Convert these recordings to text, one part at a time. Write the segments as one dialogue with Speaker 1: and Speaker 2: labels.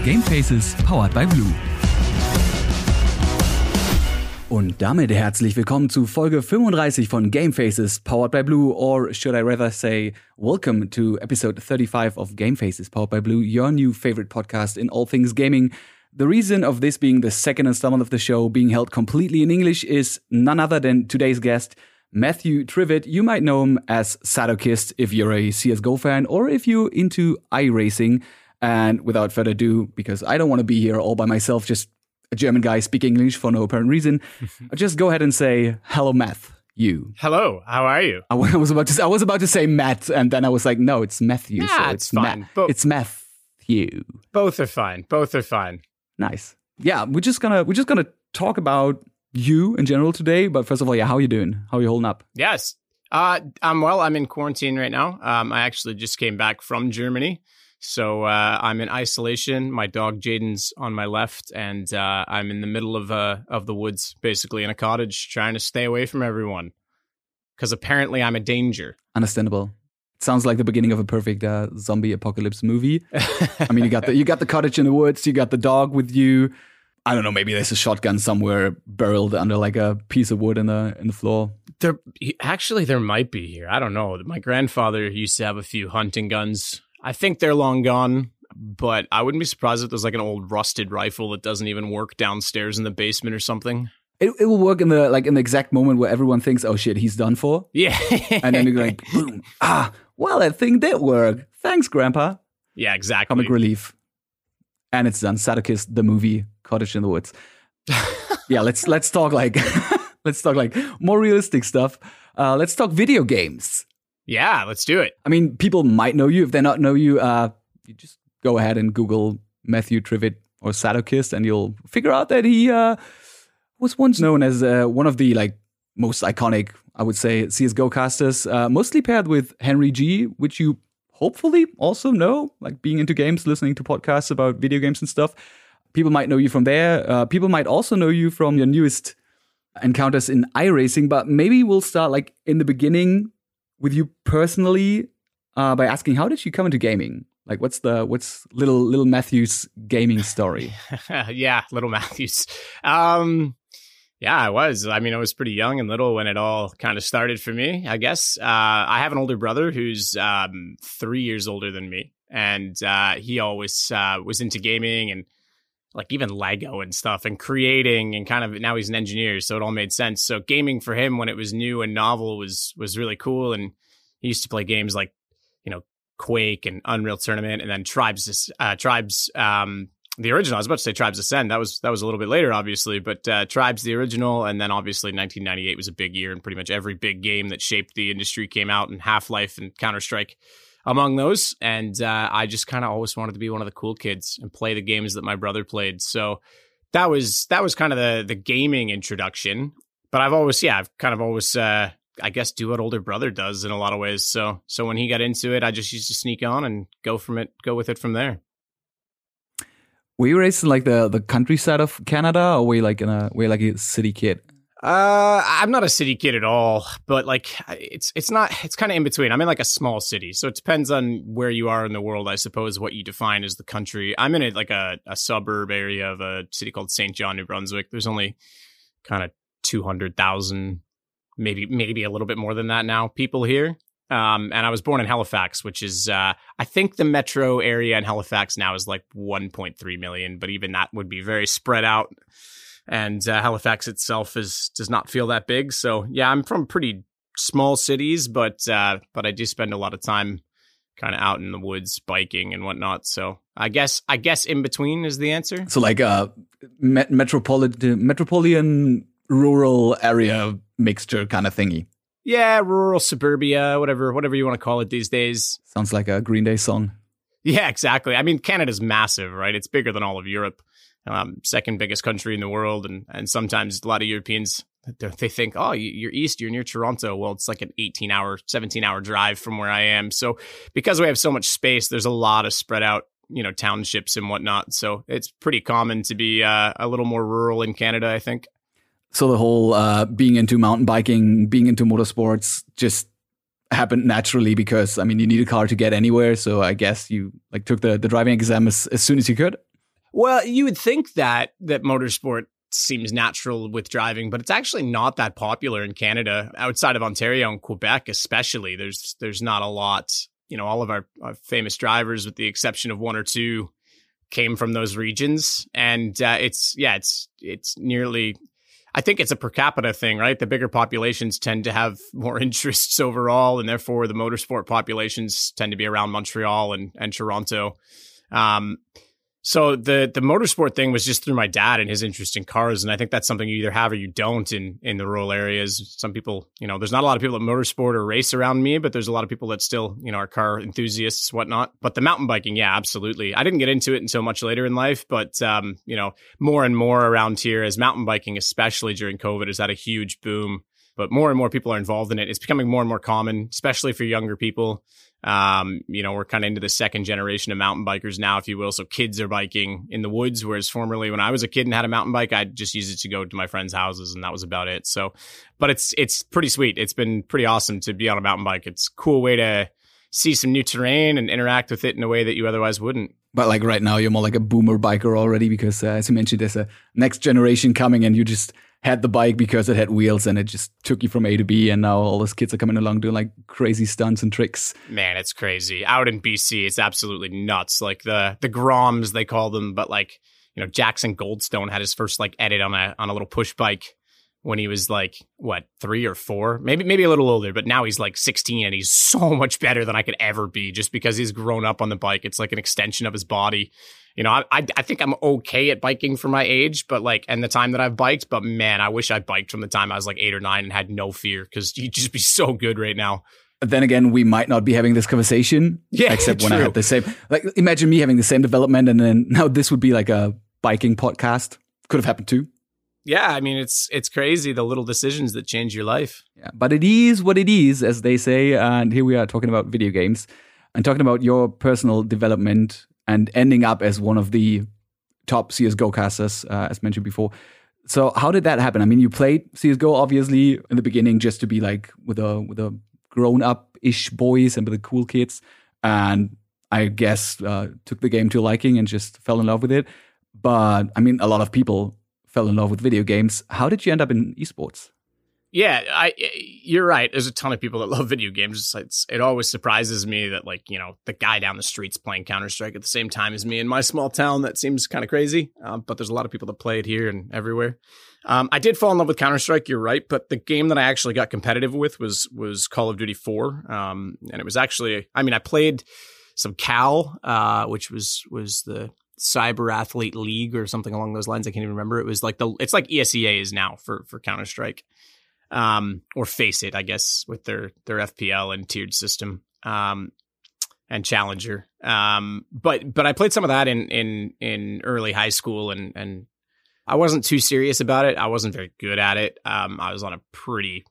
Speaker 1: Game Faces powered by Blue. Und damit herzlich willkommen zu Folge 35 von Game Faces powered by Blue, or should I rather say, welcome to episode 35 of Game Faces powered by Blue, your new favorite podcast in all things gaming. The reason of this being the second installment of the show being held completely in English is none other than today's guest, Matthew Trivett. You might know him as Sadokist if you're a CSGO fan or if you're into iRacing. And without further ado, because I don't want to be here all by myself, just a German guy speaking English for no apparent reason, I'll just go ahead and say, hello, Matthew.
Speaker 2: Hello, how are you?
Speaker 1: I was about to say Matt, and then I was like, no, it's Matthew.
Speaker 2: Yeah,
Speaker 1: so
Speaker 2: it's fine.
Speaker 1: It's Matthew.
Speaker 2: Both are fine.
Speaker 1: Nice. Yeah, we're just gonna talk about you in general today. But first of all, how are you doing? How are you holding up?
Speaker 2: Yes. I'm well. I'm in quarantine right now. I actually just came back from Germany. So I'm in isolation. My dog Jaden's on my left, and I'm in the middle of the woods, basically in a cottage, trying to stay away from everyone. Because apparently I'm a danger.
Speaker 1: Understandable. It sounds like the beginning of a perfect zombie apocalypse movie. I mean, you got the cottage in the woods, you got the dog with you. I don't know, maybe there's a shotgun somewhere buried under like a piece of wood in the floor.
Speaker 2: There might be here. I don't know. My grandfather used to have a few hunting guns. I think they're long gone, but I wouldn't be surprised if there's like an old rusted rifle that doesn't even work downstairs in the basement or something.
Speaker 1: It will work in the exact moment where everyone thinks, oh shit, he's done for.
Speaker 2: Yeah.
Speaker 1: And then you're like, boom. Well, that thing did work. Thanks, Grandpa.
Speaker 2: Yeah, exactly.
Speaker 1: Comic relief. And it's done. Sadokist, the movie, Cottage in the Woods. Yeah, let's talk like more realistic stuff. Let's talk video games.
Speaker 2: Yeah, let's do it.
Speaker 1: I mean, people might know you. If they not know you, you just go ahead and Google Matthew Trivett or Sadokist, and you'll figure out that he was once known as one of the most iconic, I would say, CSGO casters, mostly paired with Henry G, which you hopefully also know, like being into games, listening to podcasts about video games and stuff. People might know you from there. People might also know you from your newest encounters in iRacing, but maybe we'll start in the beginning with you personally, by asking, how did you come into gaming? Like, what's little Matthew's gaming story?
Speaker 2: Yeah, little Matthew's. Yeah, I was. I mean, I was pretty young and little when it all kind of started for me, I guess. I have an older brother who's 3 years older than me, and he always was into gaming and even Lego and stuff and creating, and kind of now he's an engineer, so it all made sense. So gaming for him when it was new and novel was really cool. And he used to play games like, Quake and Unreal Tournament, and then Tribes, the original. I was about to say Tribes Ascend. That was a little bit later, obviously, but Tribes, the original, and then obviously 1998 was a big year, and pretty much every big game that shaped the industry came out, and Half-Life and Counter-Strike among those. And I just kind of always wanted to be one of the cool kids and play the games that my brother played. So that was kind of the gaming introduction. But I've kind of always, I guess, do what older brother does in a lot of ways. So when he got into it, I just used to sneak on and go with it from there.
Speaker 1: Were you raised in the countryside of Canada, or were you a city kid?
Speaker 2: I'm not a city kid at all, but it's kind of in between. I'm in a small city, so it depends on where you are in the world, I suppose, what you define as the country. I'm in a suburb area of a city called St. John, New Brunswick. There's only kind of 200,000, maybe a little bit more than that now, people here. And I was born in Halifax, which is, I think the metro area in Halifax now is 1.3 million, but even that would be very spread out. And Halifax itself does not feel that big. So yeah, I'm from pretty small cities, but I do spend a lot of time kind of out in the woods biking and whatnot. So I guess in between is the answer.
Speaker 1: So metropolitan rural area mixture kind of thingy.
Speaker 2: Yeah, rural suburbia, whatever you want to call it these days.
Speaker 1: Sounds like a Green Day song.
Speaker 2: Yeah, exactly. I mean, Canada's massive, right? It's bigger than all of Europe. Second biggest country in the world, and sometimes a lot of Europeans, they think, oh, you're east, you're near Toronto. Well, it's like an 18-hour, 17-hour drive from where I am. So because we have so much space, there's a lot of spread out, townships and whatnot. So it's pretty common to be a little more rural in Canada, I think.
Speaker 1: So the whole being into mountain biking, being into motorsports just happened naturally because, I mean, you need a car to get anywhere. So I guess you took the driving exam as soon as you could.
Speaker 2: Well, you would think that motorsport seems natural with driving, but it's actually not that popular in Canada. Outside of Ontario and Quebec especially, there's not a lot. All of our famous drivers, with the exception of one or two, came from those regions. And it's nearly, I think it's a per capita thing, right? The bigger populations tend to have more interests overall, and therefore the motorsport populations tend to be around Montreal and Toronto. So the motorsport thing was just through my dad and his interest in cars. And I think that's something you either have or you don't in the rural areas. Some people, there's not a lot of people that motorsport or race around me, but there's a lot of people that still, are car enthusiasts, whatnot. But the mountain biking, yeah, absolutely. I didn't get into it until much later in life, but, more and more around here as mountain biking, especially during COVID, has had a huge boom. But more and more people are involved in it. It's becoming more and more common, especially for younger people. We're kind of into the second generation of mountain bikers now, if you will. So kids are biking in the woods, whereas formerly when I was a kid and had a mountain bike, I'd just use it to go to my friends' houses, and that was about it. So, but it's pretty sweet. It's been pretty awesome to be on a mountain bike. It's a cool way to see some new terrain and interact with it in a way that you otherwise wouldn't.
Speaker 1: But like right now, you're more like a boomer biker already because, as you mentioned, there's a next generation coming, and you just had the bike because it had wheels and it just took you from A to B. And now all those kids are coming along doing like crazy stunts and tricks.
Speaker 2: Man, it's crazy. Out in BC, it's absolutely nuts. Like the Groms, they call them, but like, Jackson Goldstone had his first like edit on a little push bike when he was like, 3 or 4, maybe a little older, but now he's like 16 and he's so much better than I could ever be just because he's grown up on the bike. It's like an extension of his body. I think I'm okay at biking for my age, but like, and the time that I've biked, but man, I wish I biked from the time I was like 8 or 9 and had no fear, because you'd just be so good right now.
Speaker 1: Then again, we might not be having this conversation.
Speaker 2: Yeah,
Speaker 1: except
Speaker 2: true.
Speaker 1: When I had the same, like, imagine me having the same development, and then now this would be like a biking podcast. Could have happened too.
Speaker 2: Yeah, I mean, it's crazy, the little decisions that change your life.
Speaker 1: Yeah, but it is what it is, as they say. And here we are talking about video games and talking about your personal development and ending up as one of the top CSGO casters, as mentioned before. So how did that happen? I mean, you played CSGO, obviously, in the beginning just to be like with a grown-up-ish boys and with the cool kids. And I guess took the game to a liking and just fell in love with it. But, I mean, a lot of people fell in love with video games. How did you end up in esports?
Speaker 2: Yeah, you're right. There's a ton of people that love video games. It always surprises me that, like, the guy down the street's playing Counter-Strike at the same time as me in my small town. That seems kind of crazy. But there's a lot of people that play it here and everywhere. I did fall in love with Counter-Strike, you're right. But the game that I actually got competitive with was Call of Duty 4. And it was actually, I played some CAL, which was the Cyber Athlete League or something along those lines. I can't even remember. It was like it's like ESEA is now for Counter-Strike. Or Face It, I guess, with their FPL and tiered system, and Challenger. But I played some of that in early high school, and I wasn't too serious about it. I wasn't very good at it. I was on a pretty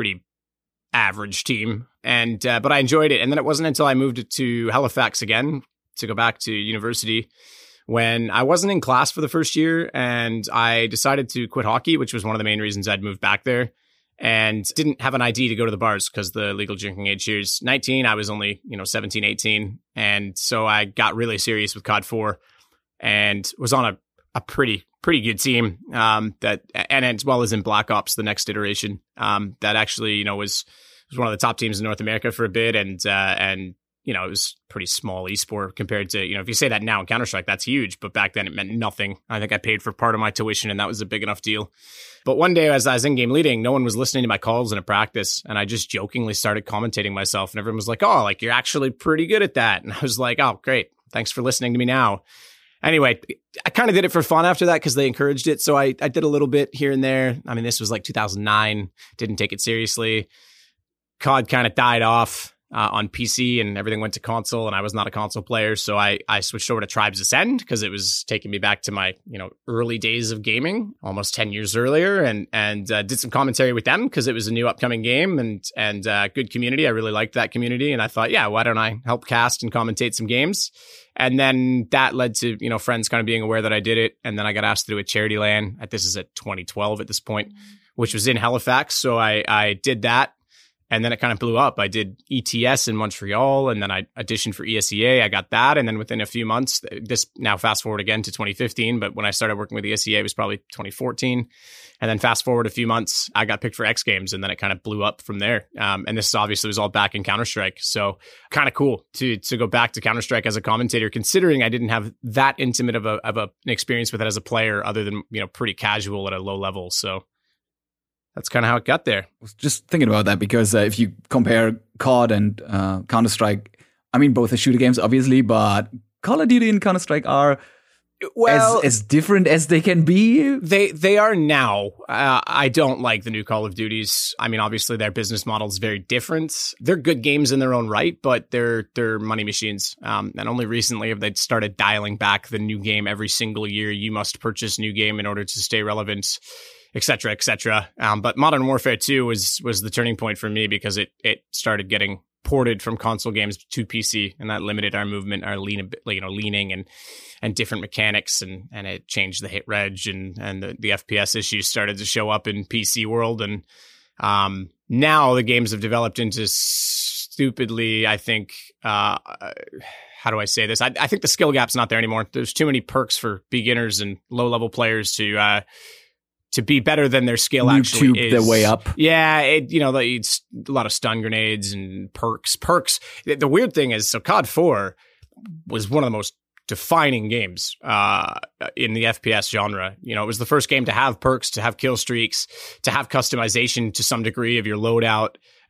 Speaker 2: average team, and but I enjoyed it. And then it wasn't until I moved to Halifax again to go back to university when I wasn't in class for the first year, and I decided to quit hockey, which was one of the main reasons I'd moved back there. And didn't have an ID to go to the bars because the legal drinking age here is 19. I was only, 17, 18. And so I got really serious with COD 4 and was on a pretty good team that, and as well as in Black Ops, the next iteration, that actually, was one of the top teams in North America for a bit. And it was pretty small esport compared to, if you say that now in Counter-Strike, that's huge. But back then it meant nothing. I think I paid for part of my tuition and that was a big enough deal. But one day as I was in-game leading, no one was listening to my calls in a practice. And I just jokingly started commentating myself. And everyone was like, oh, like, you're actually pretty good at that. And I was like, oh, great. Thanks for listening to me now. Anyway, I kind of did it for fun after that because they encouraged it. So I did a little bit here and there. I mean, this was like 2009. Didn't take it seriously. COD kind of died off on PC and everything went to console, and I was not a console player. So I switched over to Tribes Ascend because it was taking me back to my, early days of gaming almost 10 years earlier, and did some commentary with them because it was a new upcoming game and good community. I really liked that community. And I thought, yeah, why don't I help cast and commentate some games? And then that led to, friends kind of being aware that I did it. And then I got asked to do a charity LAN. This is at 2012 at this point, which was in Halifax. So I did that. And then it kind of blew up. I did ETS in Montreal, and then I auditioned for ESEA. I got that. And then within a few months, this now fast forward again to 2015. But when I started working with ESEA, it was probably 2014. And then fast forward a few months, I got picked for X Games, and then it kind of blew up from there. And this obviously was all back in Counter-Strike. So kind of cool to go back to Counter-Strike as a commentator, considering I didn't have that intimate of an experience with it as a player, other than, pretty casual at a low level. So that's kind of how it got there.
Speaker 1: I was just thinking about that because if you compare COD and Counter-Strike, I mean, both are shooter games, obviously, but Call of Duty and Counter-Strike are as different as they can be.
Speaker 2: They are now. I don't like the new Call of Duties. I mean, obviously their business model is very different. They're good games in their own right, but they're money machines. And only recently have they started dialing back the new game every single year. You must purchase new game in order to stay relevant, et cetera, et cetera. But Modern Warfare 2 was the turning point for me because it started getting ported from console games to PC, and that limited our movement, our leaning and different mechanics, and it changed the hit reg, and the FPS issues started to show up in PC world. And now the games have developed into stupidly, I think, how do I say this? I think the skill gap's not there anymore. There's too many perks for beginners and low level players to be better than their skill actually is.
Speaker 1: Their way up.
Speaker 2: Yeah, it's a lot of stun grenades and perks. The weird thing is, so COD 4 was one of the most defining games in the FPS genre. It was the first game to have perks, to have kill streaks, to have customization to some degree of your loadout.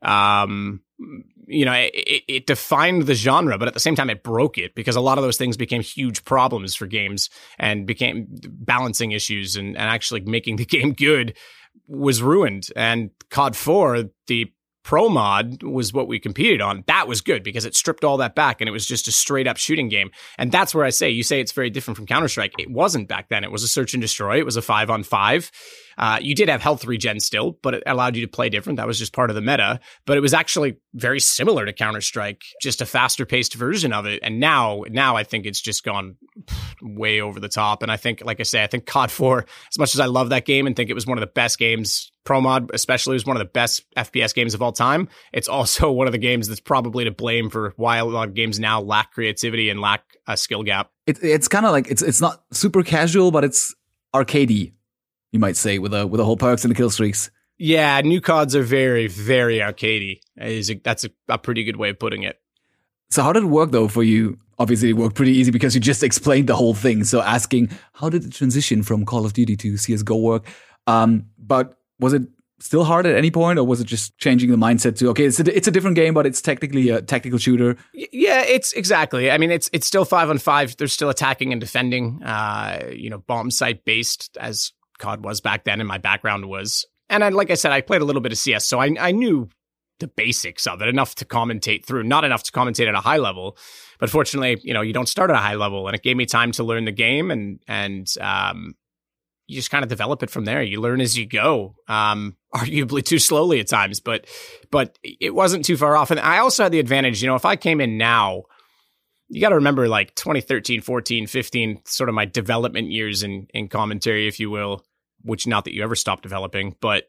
Speaker 2: It defined the genre, but at the same time, it broke it because a lot of those things became huge problems for games and became balancing issues, and actually making the game good was ruined. And COD 4, the Pro mod, was what we competed on. That was good because it stripped all that back and it was just a straight up shooting game. And that's where you say it's very different from Counter-Strike. It wasn't back then. It was a search and destroy. It was a 5-on-5. You did have health regen still, but it allowed you to play different. That was just part of the meta. But it was actually very similar to Counter-Strike, just a faster paced version of it. And now I think it's just gone way over the top. And I think, like I say, I think COD 4, as much as I love that game and think it was one of the best games, Pro Mod especially was one of the best FPS games of all time, it's also one of the games that's probably to blame for why a lot of games now lack creativity and lack a skill gap.
Speaker 1: It's kind of like, it's not super casual, but it's arcadey, you might say, with the whole perks and the kill streaks.
Speaker 2: Yeah, new CODs are very, very arcadey. That's a pretty good way of putting it.
Speaker 1: So how did it work, though, for you? Obviously, it worked pretty easy because you just explained the whole thing. So asking, how did the transition from Call of Duty to CSGO work? But was it still hard at any point, or was it just changing the mindset to, okay, it's a different game, but it's technically a tactical shooter?
Speaker 2: Yeah, it's exactly. I mean, it's still 5-on-5. There's still attacking and defending, bomb site based as COD was back then, and my background was. And like I said, I played a little bit of CS, so I knew the basics of it, enough to commentate through, not enough to commentate at a high level. But fortunately, you don't start at a high level, and it gave me time to learn the game, and you just kind of develop it from there. You learn as you go, arguably too slowly at times, but it wasn't too far off. And I also had the advantage, if I came in now, you got to remember like 2013, 14, 15, sort of my development years in commentary, if you will, which not that you ever stopped developing, but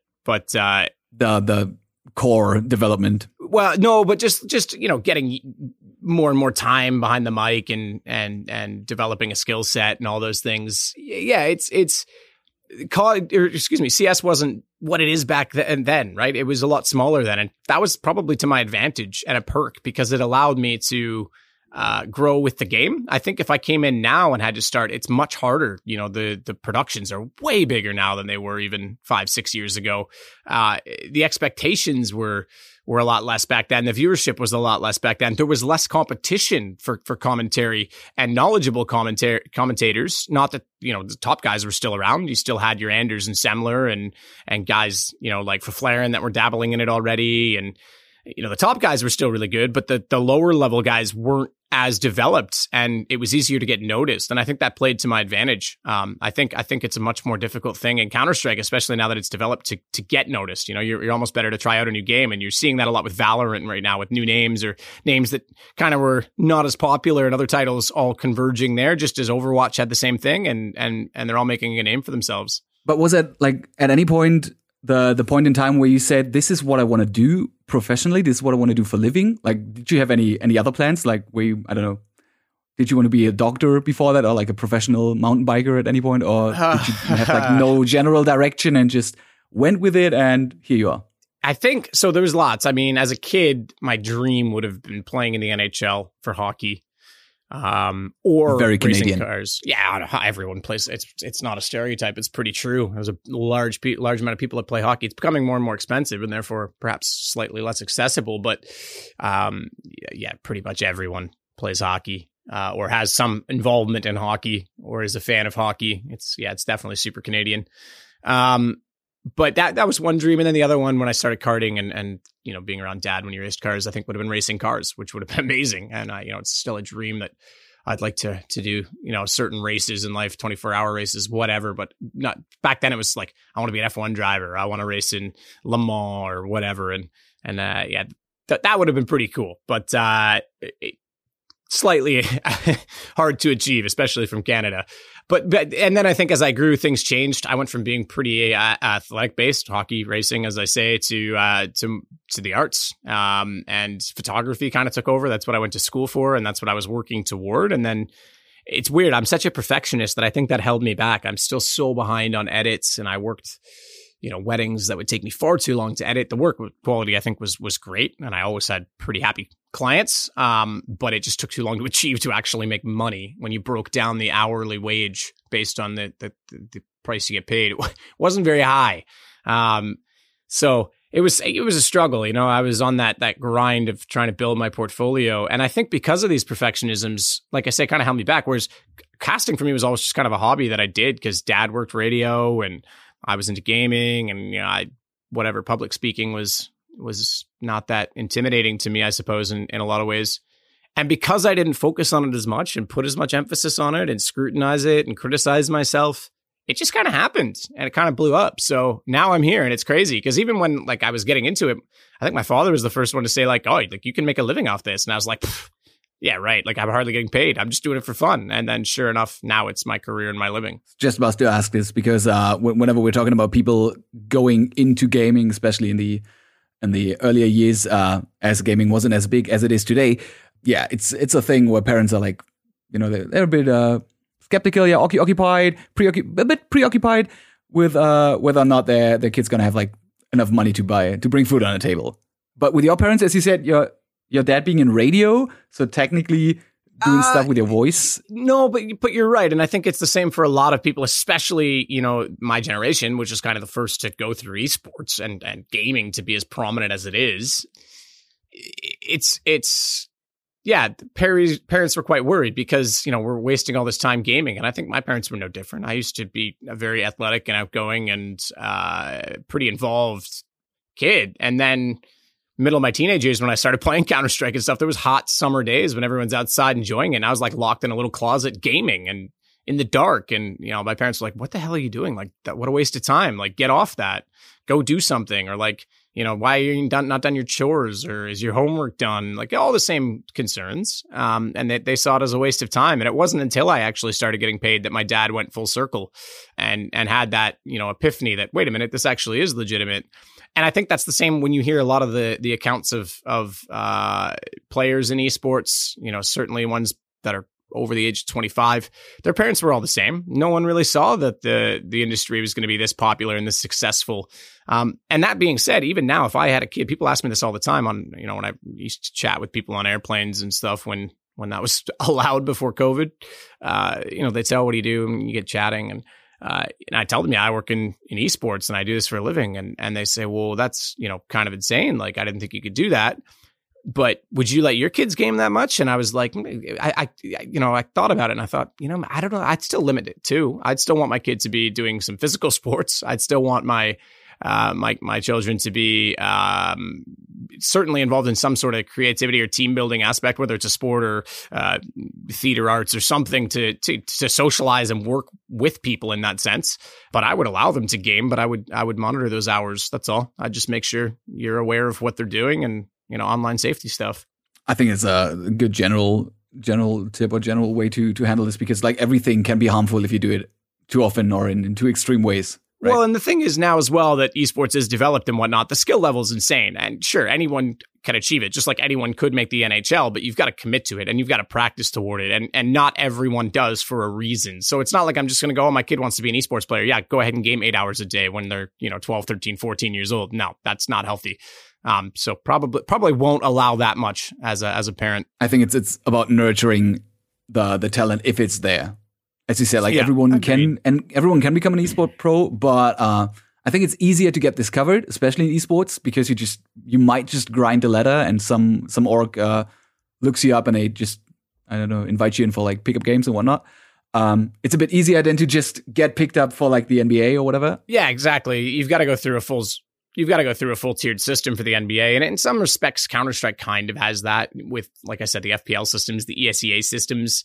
Speaker 1: the core development.
Speaker 2: Well, no, but just getting more and more time behind the mic and developing a skill set and all those things. Yeah, CS wasn't what it is back then, right? It was a lot smaller then, and that was probably to my advantage and a perk because it allowed me to grow with the game. I think if I came in now and had to start, it's much harder. The productions are way bigger now than they were even 5-6 years ago. The expectations were a lot less back then. The viewership was a lot less back then. There was less competition for commentary and knowledgeable commentators. Not that, the top guys were still around. You still had your Anders and Semler and guys, like Faflaren that were dabbling in it already. And, the top guys were still really good, but the lower level guys weren't as developed, and it was easier to get noticed. And I think that played to my advantage. I think it's a much more difficult thing in Counter-Strike, especially now that it's developed to get noticed. You're almost better to try out a new game, and you're seeing that a lot with Valorant right now, with new names or names that kind of were not as popular and other titles all converging there, just as Overwatch had the same thing, and they're all making a name for themselves.
Speaker 1: But was it like at any point the point in time where you said, this is what I want to do? professionally, this is what I want to do for a living? Like, did you have any other plans? Like, I don't know, did you want to be a doctor before that, or like a professional mountain biker at any point? Or did you have like no general direction and just went with it and here you are?
Speaker 2: I think, so there was lots. I mean, as a kid, my dream would have been playing in the NHL for hockey. Or
Speaker 1: very
Speaker 2: racing
Speaker 1: Canadian
Speaker 2: cars. Yeah, everyone plays. It's not a stereotype. It's pretty true. There's a large amount of people that play hockey. It's becoming more and more expensive, and therefore perhaps slightly less accessible. But yeah, pretty much everyone plays hockey or has some involvement in hockey or is a fan of hockey. It's definitely super Canadian. But that was one dream, and then the other one when I started karting and being around Dad when he raced cars, I think would have been racing cars, which would have been amazing. And it's still a dream that I'd like to do certain races in life, 24-hour races, whatever. But not back then. It was like I want to be an F1 driver. I want to race in Le Mans or whatever. And that would have been pretty cool. But slightly hard to achieve, especially from Canada. But and then I think as I grew, things changed. I went from being pretty athletic based, hockey, racing, as I say, to the arts, and photography kind of took over. That's what I went to school for, and that's what I was working toward. And then it's weird. I'm such a perfectionist that I think that held me back. I'm still so behind on edits, and I worked weddings that would take me far too long to edit. The work quality, I think, was great, and I always had pretty happy clients. But it just took too long to achieve to actually make money. When you broke down the hourly wage based on the price you get paid, it wasn't very high. So it was a struggle. I was on that grind of trying to build my portfolio, and I think because of these perfectionisms, like I say, kind of held me back. Whereas casting for me was always just kind of a hobby that I did because Dad worked radio and I was into gaming, and whatever, public speaking was not that intimidating to me, I suppose, in a lot of ways. And because I didn't focus on it as much and put as much emphasis on it and scrutinize it and criticize myself, it just kind of happened and it kind of blew up. So now I'm here, and it's crazy because even when I was getting into it, I think my father was the first one to say oh, you can make a living off this. And I was like, yeah, right. I'm hardly getting paid. I'm just doing it for fun. And then sure enough, now it's my career and my living.
Speaker 1: Just about to ask this because whenever we're talking about people going into gaming, especially in the earlier years, as gaming wasn't as big as it is today, yeah, it's a thing where parents are like, they're a bit skeptical, yeah, a bit preoccupied with whether or not their kid's gonna have enough money to bring food on the table. But with your parents, as you said, your dad being in radio, so technically doing stuff with your voice.
Speaker 2: No, but you're right. And I think it's the same for a lot of people, especially, my generation, which is kind of the first to go through esports and gaming to be as prominent as it is. Parents were quite worried because, we're wasting all this time gaming. And I think my parents were no different. I used to be a very athletic and outgoing and pretty involved kid. And then middle of my teenage years when I started playing Counter-Strike and stuff, there was hot summer days when everyone's outside enjoying it. And I was locked in a little closet gaming and in the dark. And, my parents were like, what the hell are you doing? What a waste of time. Get off that. Go do something. Or why are you not done your chores? Or is your homework done? All the same concerns. And they saw it as a waste of time. And it wasn't until I actually started getting paid that my dad went full circle and had that, epiphany that, wait a minute, this actually is legitimate. And I think that's the same when you hear a lot of the accounts of players in esports, certainly ones that are over the age of 25, their parents were all the same. No one really saw that the industry was going to be this popular and this successful. And that being said, even now, if I had a kid, people ask me this all the time on, when I used to chat with people on airplanes and stuff when that was allowed before COVID, they'd say, oh, what do you do? And you get chatting and I tell them, I work in esports and I do this for a living. And they say, well, that's, kind of insane. I didn't think you could do that. But would you let your kids game that much? And I was like, I thought about it and I thought, I don't know. I'd still limit it too. I'd still want my kid to be doing some physical sports. I'd still want my children to be certainly involved in some sort of creativity or team building aspect, whether it's a sport or theater arts or something to socialize and work with people in that sense. But I would allow them to game, but I would monitor those hours. That's all. I'd just make sure you're aware of what they're doing and, online safety stuff.
Speaker 1: I think it's a good general tip or general way to handle this because everything can be harmful if you do it too often or in too extreme ways. Right?
Speaker 2: Well, and the thing is now as well that esports is developed and whatnot, the skill level is insane. And sure, anyone can achieve it, just like anyone could make the NHL, but you've got to commit to it and you've got to practice toward it. And not everyone does for a reason. So it's not like I'm just going to go, oh, my kid wants to be an esports player. Yeah, go ahead and game 8 hours a day when they're, 12, 13, 14 years old. No, that's not healthy. So probably won't allow that much as a parent.
Speaker 1: I think it's about nurturing the talent if it's there. As you said, like everyone can become an esport pro, but I think it's easier to get discovered, especially in esports, because you might just grind a ladder and some org looks you up and they just, I don't know, invite you in for like pickup games and whatnot. It's a bit easier than to just get picked up for like the NBA or whatever.
Speaker 2: Yeah, exactly. You've got to go through a full tiered system for the NBA. And in some respects, Counter-Strike kind of has that with, like I said, the FPL systems, the ESEA systems.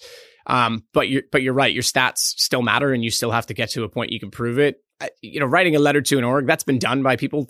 Speaker 2: But you're right. Your stats still matter and you still have to get to a point you can prove it. Writing a letter to an org, that's been done by people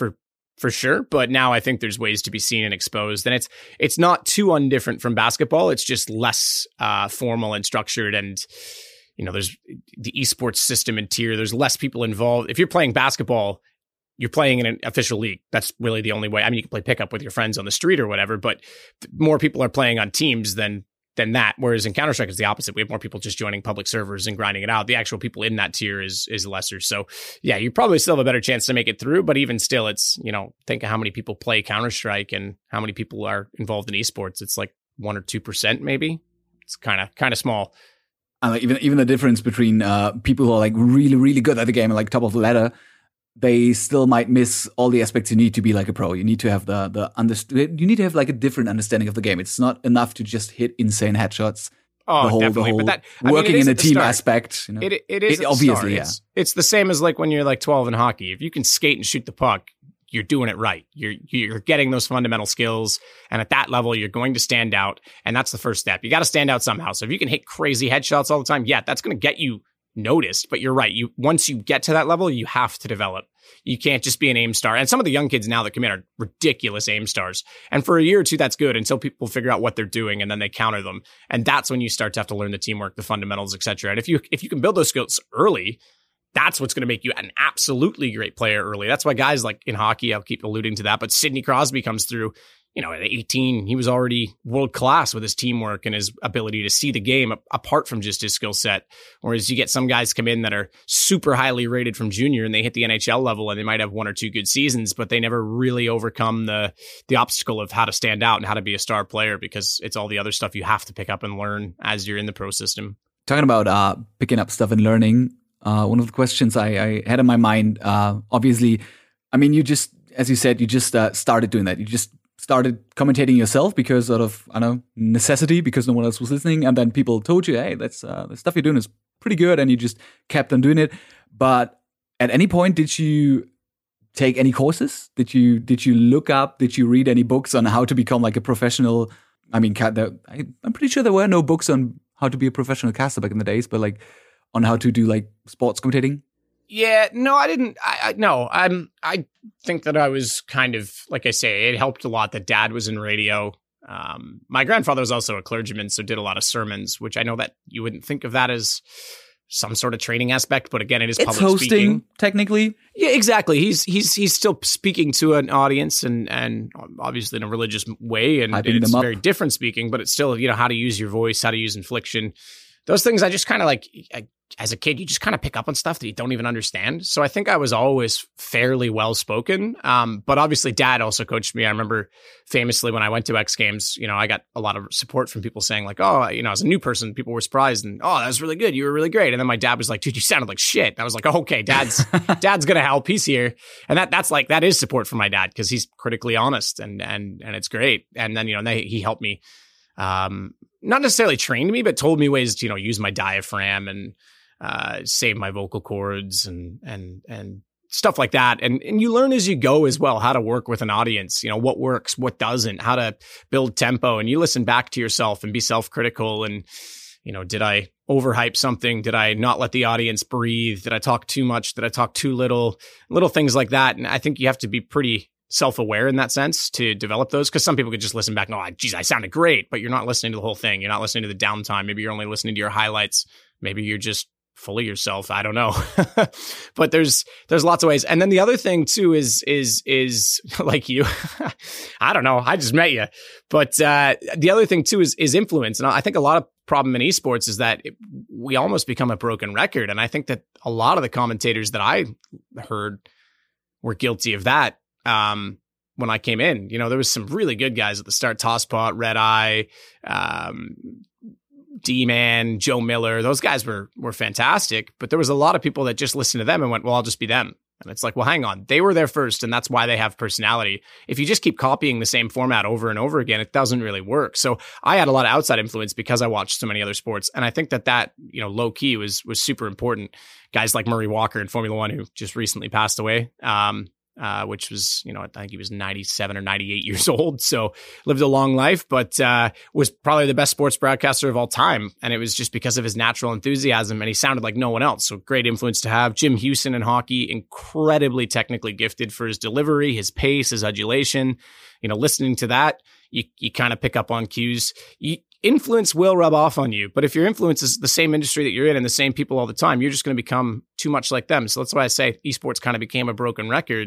Speaker 2: for sure. But now I think there's ways to be seen and exposed. And it's not too undifferent from basketball. It's just less formal and structured. And, there's the esports system and tier. There's less people involved. If you're playing basketball, you're playing in an official league. That's really the only way. I mean, you can play pickup with your friends on the street or whatever, but more people are playing on teams than that. Whereas in Counter-Strike, it's the opposite. We have more people just joining public servers and grinding it out. The actual people in that tier is lesser. So yeah, you probably still have a better chance to make it through, but even still, it's, think of how many people play Counter-Strike and how many people are involved in esports. It's like 1 or 2% maybe. It's kind of small.
Speaker 1: Even the difference between people who are like really, really good at the game and like top of the ladder, they still might miss all the aspects you need to be like a pro. You need to have you need to have like a different understanding of the game. It's not enough to just hit insane headshots.
Speaker 2: Oh, definitely. But
Speaker 1: working in a team aspect,
Speaker 2: it is obviously, yeah. It's the same as like when you're like 12 in hockey. If you can skate and shoot the puck, you're doing it right. You're getting those fundamental skills. And at that level, you're going to stand out. And that's the first step. You got to stand out somehow. So if you can hit crazy headshots all the time, yeah, that's going to get you noticed. But you're right. Once you get to that level, you have to develop. You can't just be an aim star. And some of the young kids now that come in are ridiculous aim stars. And for a year or two, that's good until people figure out what they're doing and then they counter them. And that's when you start to have to learn the teamwork, the fundamentals, etc. And if you can build those skills early, that's what's going to make you an absolutely great player early. That's why guys like in hockey, I'll keep alluding to that, but Sidney Crosby comes through, at 18, he was already world class with his teamwork and his ability to see the game apart from just his skill set. Whereas you get some guys come in that are super highly rated from junior and they hit the NHL level and they might have 1 or 2 good seasons, but they never really overcome the obstacle of how to stand out and how to be a star player because it's all the other stuff you have to pick up and learn as you're in the pro system.
Speaker 1: Talking about picking up stuff and learning, one of the questions I had in my mind, obviously, I mean, as you said, you just started doing that. You just started commentating yourself because out of, necessity, because no one else was listening. And then people told you, hey, the stuff you're doing is pretty good. And you just kept on doing it. But at any point, did you take any courses? Did you look up, did you read any books on how to become like a professional? I mean, I'm pretty sure there were no books on how to be a professional caster back in the days, but like on how to do like sports commentating.
Speaker 2: Yeah, no, I didn't. I think that I was kind of, like I say, it helped a lot that Dad was in radio. My grandfather was also a clergyman, so did a lot of sermons, which I know that you wouldn't think of that as some sort of training aspect, but again, it's public
Speaker 1: hosting,
Speaker 2: speaking.
Speaker 1: Technically.
Speaker 2: Yeah, exactly. He's still speaking to an audience and obviously in a religious way, and it's very different speaking, but it's still, how to use your voice, how to use inflection. Those things I just kind of like, as a kid, you just kind of pick up on stuff that you don't even understand. So I think I was always fairly well spoken. But obviously Dad also coached me. I remember famously when I went to X Games, I got a lot of support from people saying like, oh, as a new person, people were surprised and, oh, that was really good. You were really great. And then my dad was like, dude, you sounded like shit. And I was like, oh, okay, Dad's going to help. He's here. And that is support from my dad because he's critically honest and it's great. And then, he helped me. Not necessarily trained me, but told me ways to, use my diaphragm and save my vocal cords and stuff like that. And you learn as you go as well, how to work with an audience, what works, what doesn't, how to build tempo. And you listen back to yourself and be self-critical. And, did I overhype something? Did I not let the audience breathe? Did I talk too much? Did I talk too little? Little things like that. And I think you have to be pretty self-aware in that sense to develop those, because some people could just listen back and, oh, geez, I sounded great, but you're not listening to the whole thing. You're not listening to the downtime. Maybe you're only listening to your highlights. Maybe you're just fully yourself. I don't know. But there's lots of ways. And then the other thing too is like you, I don't know. I just met you. But the other thing too is influence. And I think a lot of problem in esports is that we almost become a broken record. And I think that a lot of the commentators that I heard were guilty of that. When I came in, there was some really good guys at the start, Tosspot, Red Eye, D-Man, Joe Miller. Those guys were fantastic, but there was a lot of people that just listened to them and went, well, I'll just be them. And it's like, well, hang on. They were there first, and that's why they have personality. If you just keep copying the same format over and over again, it doesn't really work. So I had a lot of outside influence because I watched so many other sports. And I think that low key was super important. Guys like Murray Walker in Formula One, who just recently passed away, which was, I think he was 97 or 98 years old. So lived a long life, but was probably the best sports broadcaster of all time. And it was just because of his natural enthusiasm, and he sounded like no one else. So great influence to have. Jim Houston in hockey, incredibly technically gifted for his delivery, his pace, his adulation. Listening to that, you kind of pick up on cues. Influence will rub off on you, but if your influence is the same industry that you're in and the same people all the time, you're just going to become too much like them. So that's why I say esports kind of became a broken record.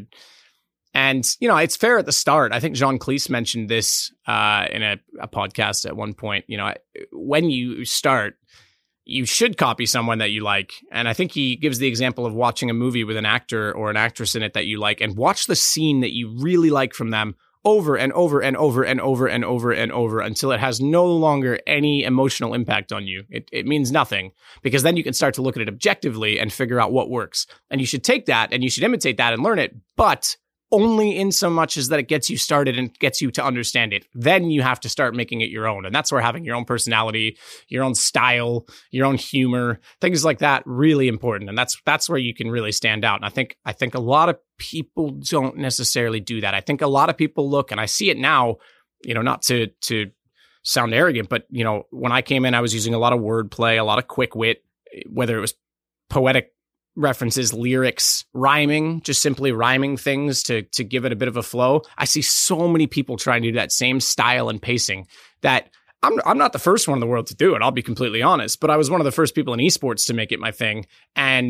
Speaker 2: And, it's fair at the start. I think Jean Cleese mentioned this in a podcast at one point. When you start, you should copy someone that you like. And I think he gives the example of watching a movie with an actor or an actress in it that you like, and watch the scene that you really like from them over and over and over and over and over and over until it has no longer any emotional impact on you. It means nothing, because then you can start to look at it objectively and figure out what works. And you should take that and you should imitate that and learn it, but only in so much as that it gets you started and gets you to understand it. Then you have to start making it your own. And that's where having your own personality, your own style, your own humor, things like that, really important. And that's where you can really stand out. And I think a lot of people don't necessarily do that. I think a lot of people look, and I see it now, not to sound arrogant, but when I came in, I was using a lot of wordplay, a lot of quick wit, whether it was poetic references, lyrics, rhyming, just simply rhyming things to give it a bit of a flow. I see so many people trying to do that same style and pacing that I'm not the first one in the world to do it. I'll be completely honest, but I was one of the first people in esports to make it my thing, and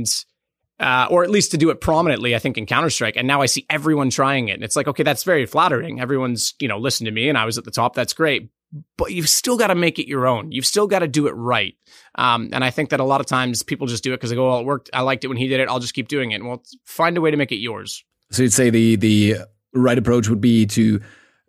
Speaker 2: or at least to do it prominently, I think, in Counter-Strike. And now I see everyone trying it, and it's like, okay, that's very flattering. Everyone's listened to me, and I was at the top. That's great. But you've still got to make it your own. You've still got to do it right. And I think that a lot of times people just do it because they go, well, it worked. I liked it when he did it. I'll just keep doing it. Well, find a way to make it yours.
Speaker 1: So you'd say the right approach would be to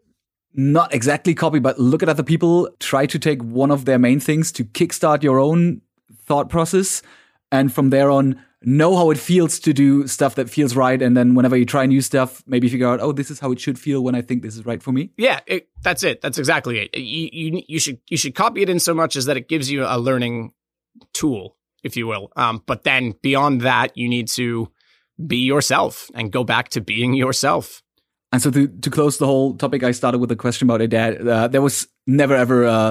Speaker 1: not exactly copy, but look at other people, try to take one of their main things to kickstart your own thought process. And from there on, know how it feels to do stuff that feels right. And then whenever you try new stuff, maybe figure out, oh, this is how it should feel when I think this is right for me.
Speaker 2: Yeah, that's it. That's exactly it. You should copy it in so much as that it gives you a learning tool, if you will. But then beyond that, you need to be yourself and go back to being yourself.
Speaker 1: And so to close the whole topic, I started with a question about a dad. There was never ever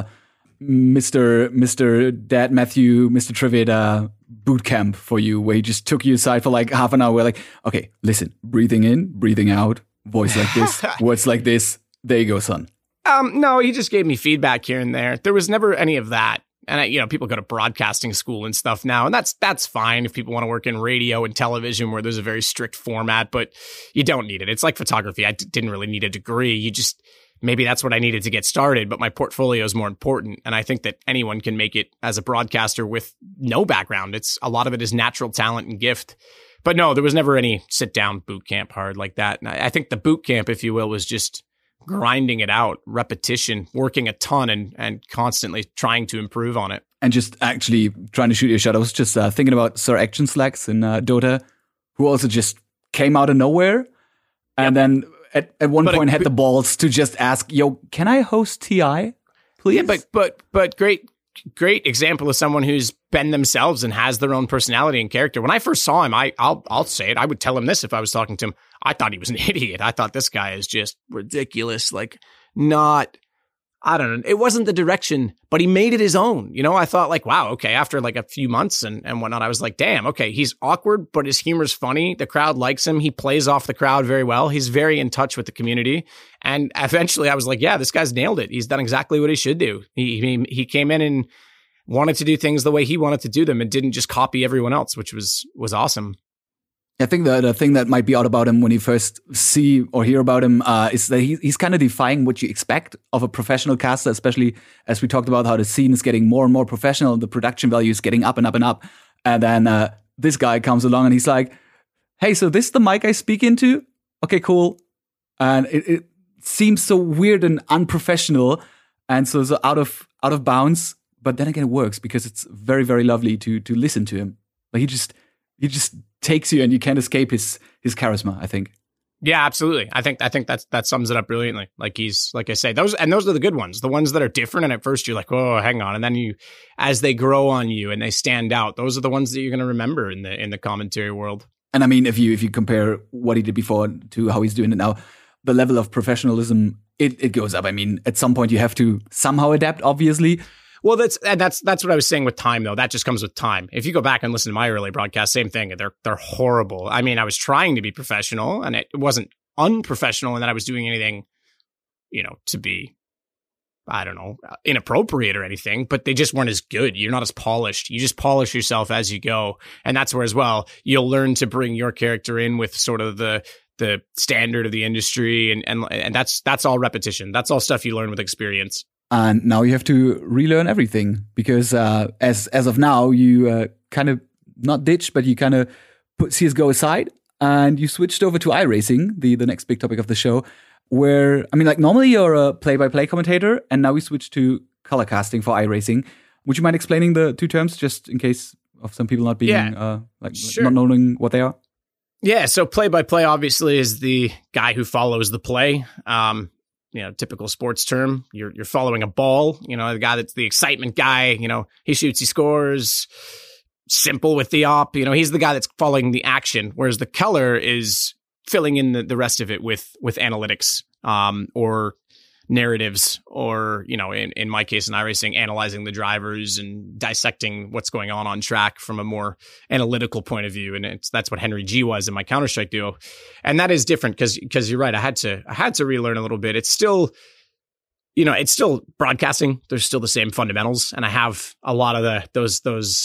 Speaker 1: Mr. Dad Matthew, Mr. Trivett boot camp for you, where he just took you aside for like half an hour. We're like, okay, listen, breathing in, breathing out, voice like this, words like this. There you go, son.
Speaker 2: No, he just gave me feedback here and there. There was never any of that. And people go to broadcasting school and stuff now, and that's fine if people want to work in radio and television where there's a very strict format, but you don't need it. It's like photography. I didn't really need a degree. Maybe that's what I needed to get started, but my portfolio is more important. And I think that anyone can make it as a broadcaster with no background. A lot of it is natural talent and gift. But no, there was never any sit down boot camp hard like that. And I think the boot camp, if you will, was just grinding it out, repetition, working a ton and constantly trying to improve on it.
Speaker 1: And just actually trying to shoot your shot. I was just thinking about Sir Action Slacks in Dota, who also just came out of nowhere. And then at one point had the balls to just ask, yo, can I host TI, please?
Speaker 2: Yeah, but great example of someone who's been themselves and has their own personality and character. When I first saw him, I'll say it, I would tell him this if I was talking to him. I thought he was an idiot. I thought this guy is just ridiculous. Like, I don't know. It wasn't the direction, but he made it his own. I thought like, wow, okay. After like a few months and whatnot, I was like, damn, okay. He's awkward, but his humor's funny. The crowd likes him. He plays off the crowd very well. He's very in touch with the community. And eventually I was like, yeah, this guy's nailed it. He's done exactly what he should do. He came in and wanted to do things the way he wanted to do them and didn't just copy everyone else, which was awesome.
Speaker 1: I think the thing that might be odd about him when you first see or hear about him is that he's kind of defying what you expect of a professional caster, especially as we talked about how the scene is getting more and more professional, the production value is getting up and up and up. And then this guy comes along and he's like, hey, so this is the mic I speak into? Okay, cool. And it seems so weird and unprofessional and so out of bounds. But then again, it works because it's very, very lovely to listen to him. Like he just takes you and you can't escape his charisma, I think.
Speaker 2: Yeah, absolutely. I think that sums it up brilliantly. Like he's, like I say, those are the good ones, the ones that are different. And at first you're like, oh, hang on. And then as they grow on you and they stand out, those are the ones that you're going to remember in the commentary world.
Speaker 1: And I mean, if you compare what he did before to how he's doing it now, the level of professionalism, it goes up. I mean, at some point you have to somehow adapt, obviously.
Speaker 2: Well, that's what I was saying with time, though. That just comes with time. If you go back and listen to my early broadcasts, same thing. They're horrible. I mean, I was trying to be professional, and it wasn't unprofessional in that I was doing anything, to be, I don't know, inappropriate or anything. But they just weren't as good. You're not as polished. You just polish yourself as you go, and that's where as well you'll learn to bring your character in with sort of the standard of the industry, and that's all repetition. That's all stuff you learn with experience.
Speaker 1: And now you have to relearn everything because as of now, you kind of not ditched, but you kind of put CSGO aside and you switched over to iRacing, the next big topic of the show, where, I mean, like normally you're a play-by-play commentator and now we switched to color casting for iRacing. Would you mind explaining the two terms just in case of some people not being,
Speaker 2: sure.
Speaker 1: Not knowing what they are?
Speaker 2: Yeah, so play-by-play obviously is the guy who follows the play. Typical sports term, you're following a ball, the guy that's the excitement guy, he shoots, he scores, simple with the op, he's the guy that's following the action, whereas the color is filling in the rest of it with analytics, or narratives, or, in my case in iRacing, analyzing the drivers and dissecting what's going on track from a more analytical point of view. And that's what Henry G was in my Counter-Strike duo. And that is different because you're right. I had to relearn a little bit. It's still, it's still broadcasting. There's still the same fundamentals. And I have a lot of those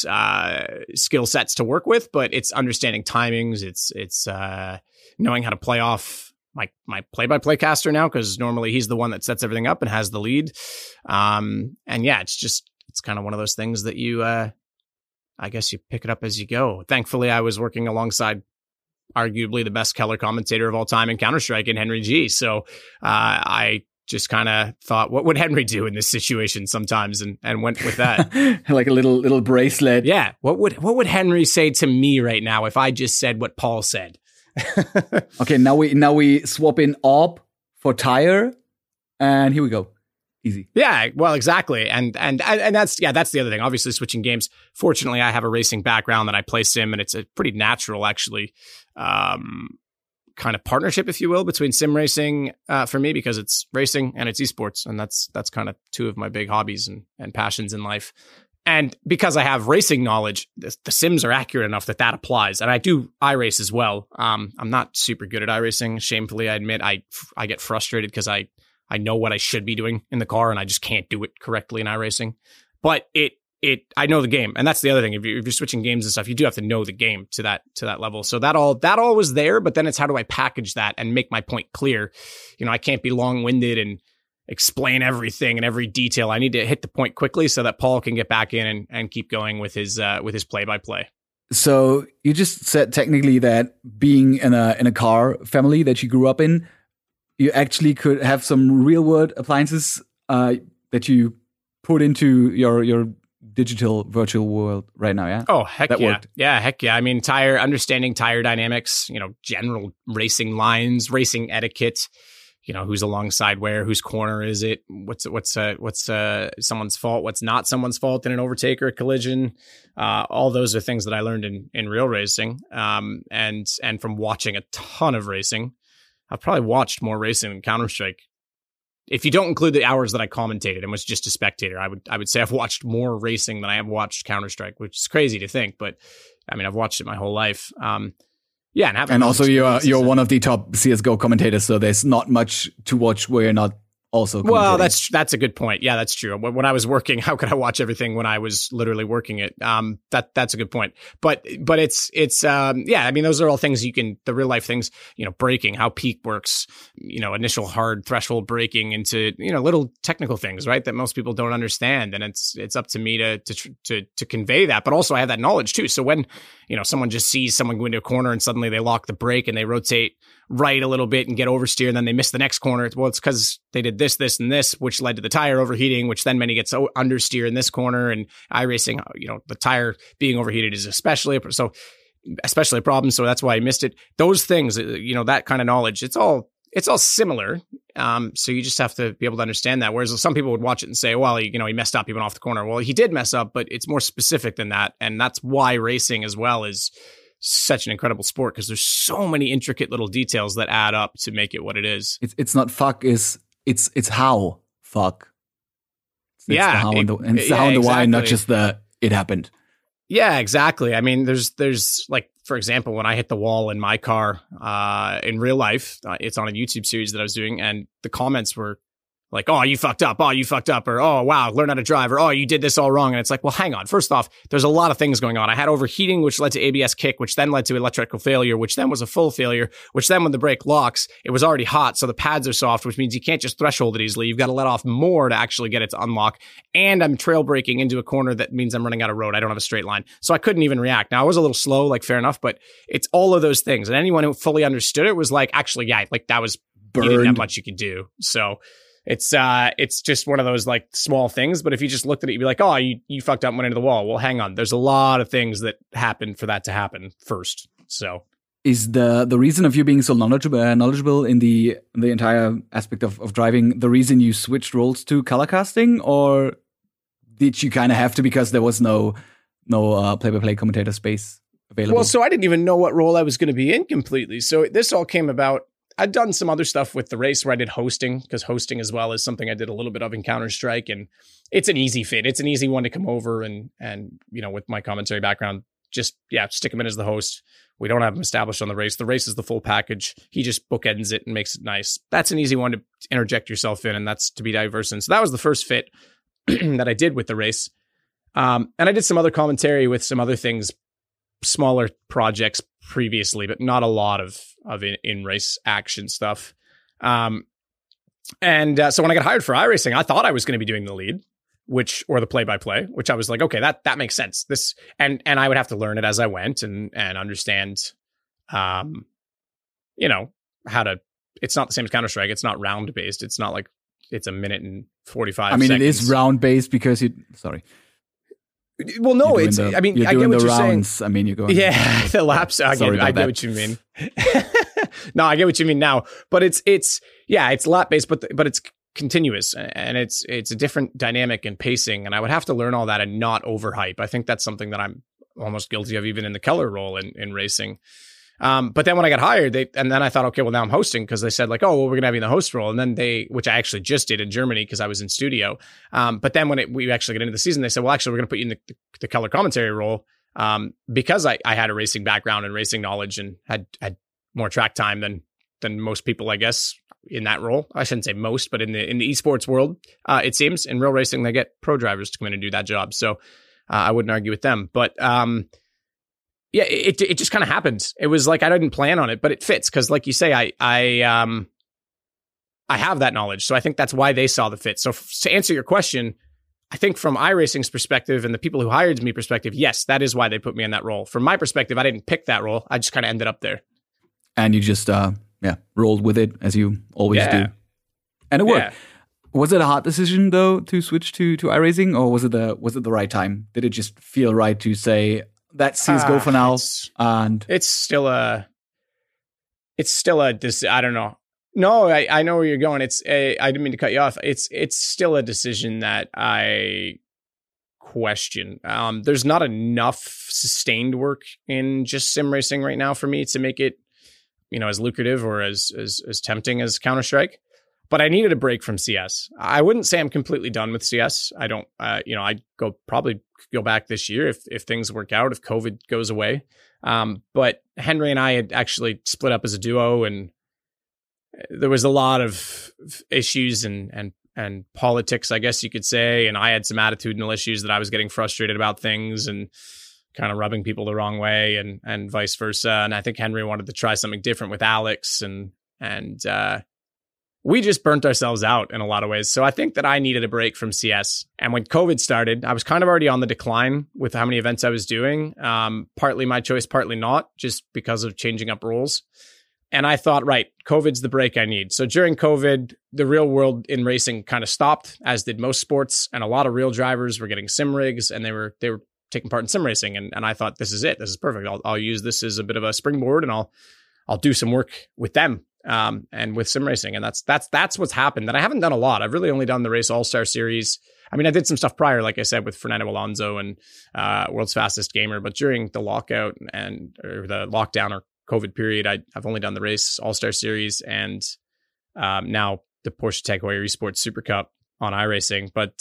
Speaker 2: skill sets to work with, but it's understanding timings. It's knowing how to play off my play-by-play caster now, because normally he's the one that sets everything up and has the lead. And yeah, it's kind of one of those things that you, I guess you pick it up as you go. Thankfully, I was working alongside arguably the best color commentator of all time in Counter-Strike in Henry G. So I just kind of thought, what would Henry do in this situation sometimes, and went with that.
Speaker 1: Like a little bracelet.
Speaker 2: Yeah. What would Henry say to me right now if I just said what Paul said?
Speaker 1: Okay, now we swap in AWP for tire, and here we go. Easy.
Speaker 2: Yeah, well, exactly, and that's the other thing. Obviously, switching games. Fortunately, I have a racing background that I play sim, and it's a pretty natural, actually, kind of partnership, if you will, between sim racing for me, because it's racing and it's esports, and that's kind of two of my big hobbies and passions in life. And because I have racing knowledge, the sims are accurate enough that applies. And I do iRace as well. I'm not super good at iRacing. Shamefully, I admit I get frustrated because I know what I should be doing in the car and I just can't do it correctly in iRacing. But I know the game. And that's the other thing. If you're switching games and stuff, you do have to know the game to that level. So that all was there. But then it's how do I package that and make my point clear? I can't be long-winded and explain everything and every detail. I need to hit the point quickly so that Paul can get back in and keep going with his play-by-play.
Speaker 1: So you just said technically that being in a car family that you grew up in, you actually could have some real-world appliances that you put into your digital virtual world right now, yeah?
Speaker 2: Oh, heck
Speaker 1: that
Speaker 2: yeah.
Speaker 1: Worked.
Speaker 2: Yeah, heck yeah. I mean, understanding tire dynamics, general racing lines, racing etiquette, who's alongside where, whose corner is it? What's someone's fault? What's not someone's fault in an overtake or a collision? All those are things that I learned in real racing. And from watching a ton of racing. I've probably watched more racing than Counter-Strike. If you don't include the hours that I commentated and was just a spectator, I would say I've watched more racing than I have watched Counter-Strike, which is crazy to think, but I mean, I've watched it my whole life. Yeah, and
Speaker 1: also you're one of the top CS:GO commentators, so there's not much to watch where you're not also.
Speaker 2: Well, that's a good point. Yeah, that's true. When I was working, how could I watch everything when I was literally working it? That's a good point. But it's yeah. I mean, those are all things the real life things. Braking, how peak works. Initial hard threshold braking into little technical things, right? That most people don't understand, and it's up to me to convey that. But also, I have that knowledge too. So when someone just sees someone go into a corner and suddenly they lock the brake and they rotate right a little bit and get oversteer, and then they miss the next corner. Well, it's because they did this, and this, which led to the tire overheating, which then meant he gets understeer in this corner. And iRacing, the tire being overheated is especially a problem. So that's why I missed it. Those things, that kind of knowledge, it's all similar. So you just have to be able to understand that. Whereas some people would watch it and say, well, he messed up, he went off the corner. Well, he did mess up, but it's more specific than that. And that's why racing as well is such an incredible sport, because there's so many intricate little details that add up to make it what it is.
Speaker 1: It's not fuck, it's how fuck. It's
Speaker 2: the
Speaker 1: how and the why, not just the it happened.
Speaker 2: Yeah, exactly. I mean, there's like, for example, when I hit the wall in my car in real life, it's on a YouTube series that I was doing, and the comments were like, oh, you fucked up. Oh, you fucked up. Or, oh, wow, learn how to drive. Or, oh, you did this all wrong. And it's like, well, hang on. First off, there's a lot of things going on. I had overheating, which led to ABS kick, which then led to electrical failure, which then was a full failure, which then when the brake locks, it was already hot. So the pads are soft, which means you can't just threshold it easily. You've got to let off more to actually get it to unlock. And I'm trail braking into a corner that means I'm running out of road. I don't have a straight line. So I couldn't even react. Now, I was a little slow, like fair enough, but it's all of those things. And anyone who fully understood it was like, actually, yeah, like that was, you didn't have much you could do. So it's just one of those like small things. But if you just looked at it, you'd be like, oh, you fucked up and went into the wall. Well, hang on. There's a lot of things that happen for that to happen first. So
Speaker 1: is the reason of you being so knowledgeable in the entire aspect of driving the reason you switched roles to color casting, or did you kind of have to because there was no play-by-play commentator space available?
Speaker 2: Well, so I didn't even know what role I was going to be in completely. So this all came about. I'd done some other stuff with the race where I did hosting, because hosting as well is something I did a little bit of in Counter-Strike, and it's an easy fit. It's an easy one to come over and with my commentary background, just stick him in as the host. We don't have him established on the race. The race is the full package. He just bookends it and makes it nice. That's an easy one to interject yourself in, and that's to be diverse in. So that was the first fit that I did with the race. And I did some other commentary with some other things, smaller projects previously, but not a lot of in-race action stuff. So when I got hired for iRacing, I thought I was going to be doing the lead, or the play-by-play, which I was like, okay, that makes sense. This and I would have to learn it as I went and understand, how to. It's not the same as Counter-Strike. It's not round based. It's not like it's a minute and 45. I mean,
Speaker 1: seconds. It is round based because Sorry.
Speaker 2: Well, no, I get what you're
Speaker 1: rounds.
Speaker 2: saying.
Speaker 1: I mean, you're going.
Speaker 2: Yeah, the laps. I get what you mean. No, I get what you mean now. But it's lap based, but it's continuous, and it's a different dynamic and pacing. And I would have to learn all that and not overhype. I think that's something that I'm almost guilty of, even in the Keller role in racing. But then when I got hired, then I thought, okay, well, now I'm hosting, because they said like, oh, well, we're going to have you in the host role. And then which I actually just did in Germany because I was in studio. But then when we actually get into the season, they said, well, actually, we're going to put you in the color commentary role. Because I had a racing background and racing knowledge and had more track time than most people, I guess, in that role. I shouldn't say most, but in the esports world, it seems in real racing, they get pro drivers to come in and do that job. So I wouldn't argue with them, but, yeah, it just kind of happened. It was like I didn't plan on it, but it fits because, like you say, I have that knowledge, so I think that's why they saw the fit. So to answer your question, I think from iRacing's perspective and the people who hired me perspective, yes, that is why they put me in that role. From my perspective, I didn't pick that role; I just kind of ended up there.
Speaker 1: And you just rolled with it as you always do, and it worked. Yeah. Was it a hard decision though to switch to iRacing, or was it the right time? Did it just feel right to say, that's CSGO for now, and
Speaker 2: it's still a I don't know. No, I know where you're going. I didn't mean to cut you off. It's still a decision that I question. There's not enough sustained work in just sim racing right now for me to make it, as lucrative or as tempting as Counter-Strike. But I needed a break from CS. I wouldn't say I'm completely done with CS. I don't, I'd probably go back this year if things work out, if COVID goes away. But Henry and I had actually split up as a duo, and there was a lot of issues and politics, I guess you could say. And I had some attitudinal issues that I was getting frustrated about things and kind of rubbing people the wrong way and vice versa. And I think Henry wanted to try something different with Alex and we just burnt ourselves out in a lot of ways. So I think that I needed a break from CS. And when COVID started, I was kind of already on the decline with how many events I was doing. Partly my choice, partly not, just because of changing up roles. And I thought, right, COVID's the break I need. So during COVID, the real world in racing kind of stopped, as did most sports. And a lot of real drivers were getting sim rigs and they were taking part in sim racing. And I thought, this is it. This is perfect. I'll use this as a bit of a springboard and I'll do some work with them. And with sim racing. And that's what's happened. And I haven't done a lot. I've really only done the Race All-Star Series. I mean, I did some stuff prior, like I said, with Fernando Alonso and World's Fastest Gamer. But during the lockout or the lockdown or COVID period, I've only done the Race All-Star Series and now the Porsche Tag Heuer Esports Super Cup on iRacing. But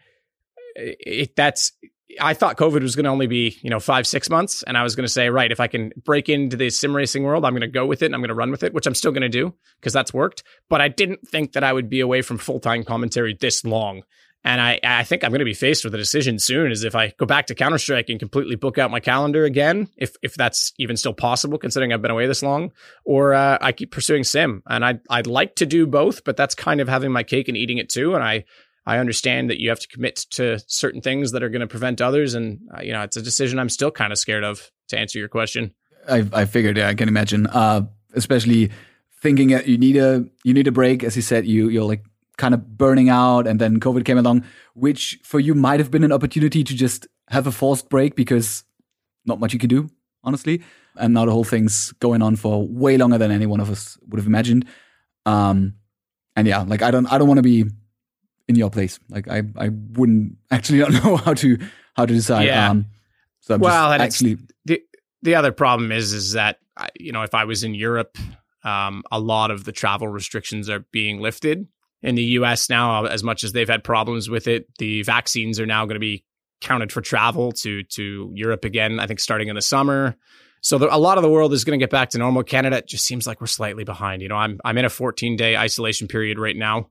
Speaker 2: I thought COVID was going to only be, 5-6 months. And I was going to say, right, if I can break into the sim racing world, I'm going to go with it and I'm going to run with it, which I'm still going to do because that's worked. But I didn't think that I would be away from full-time commentary this long. And I think I'm going to be faced with a decision soon, is if I go back to Counter-Strike and completely book out my calendar again, if that's even still possible, considering I've been away this long, or I keep pursuing sim. And I'd like to do both, but that's kind of having my cake and eating it too. And I understand that you have to commit to certain things that are going to prevent others. And, it's a decision I'm still kind of scared of, to answer your question.
Speaker 1: I figured, I can imagine, especially thinking that you need a break. As you said, you're like kind of burning out, and then COVID came along, which for you might have been an opportunity to just have a forced break because not much you could do, honestly. And now the whole thing's going on for way longer than any one of us would have imagined. And yeah, like I don't want to be in your place. Like I wouldn't actually not know how to decide.
Speaker 2: Yeah.
Speaker 1: So I'm just actually
Speaker 2: the other problem is that if I was in Europe, a lot of the travel restrictions are being lifted. In the US now, as much as they've had problems with it, the vaccines are now going to be counted for travel to Europe again, I think starting in the summer. So a lot of the world is going to get back to normal. Canada, it just seems like we're slightly behind. I'm in a 14-day isolation period right now,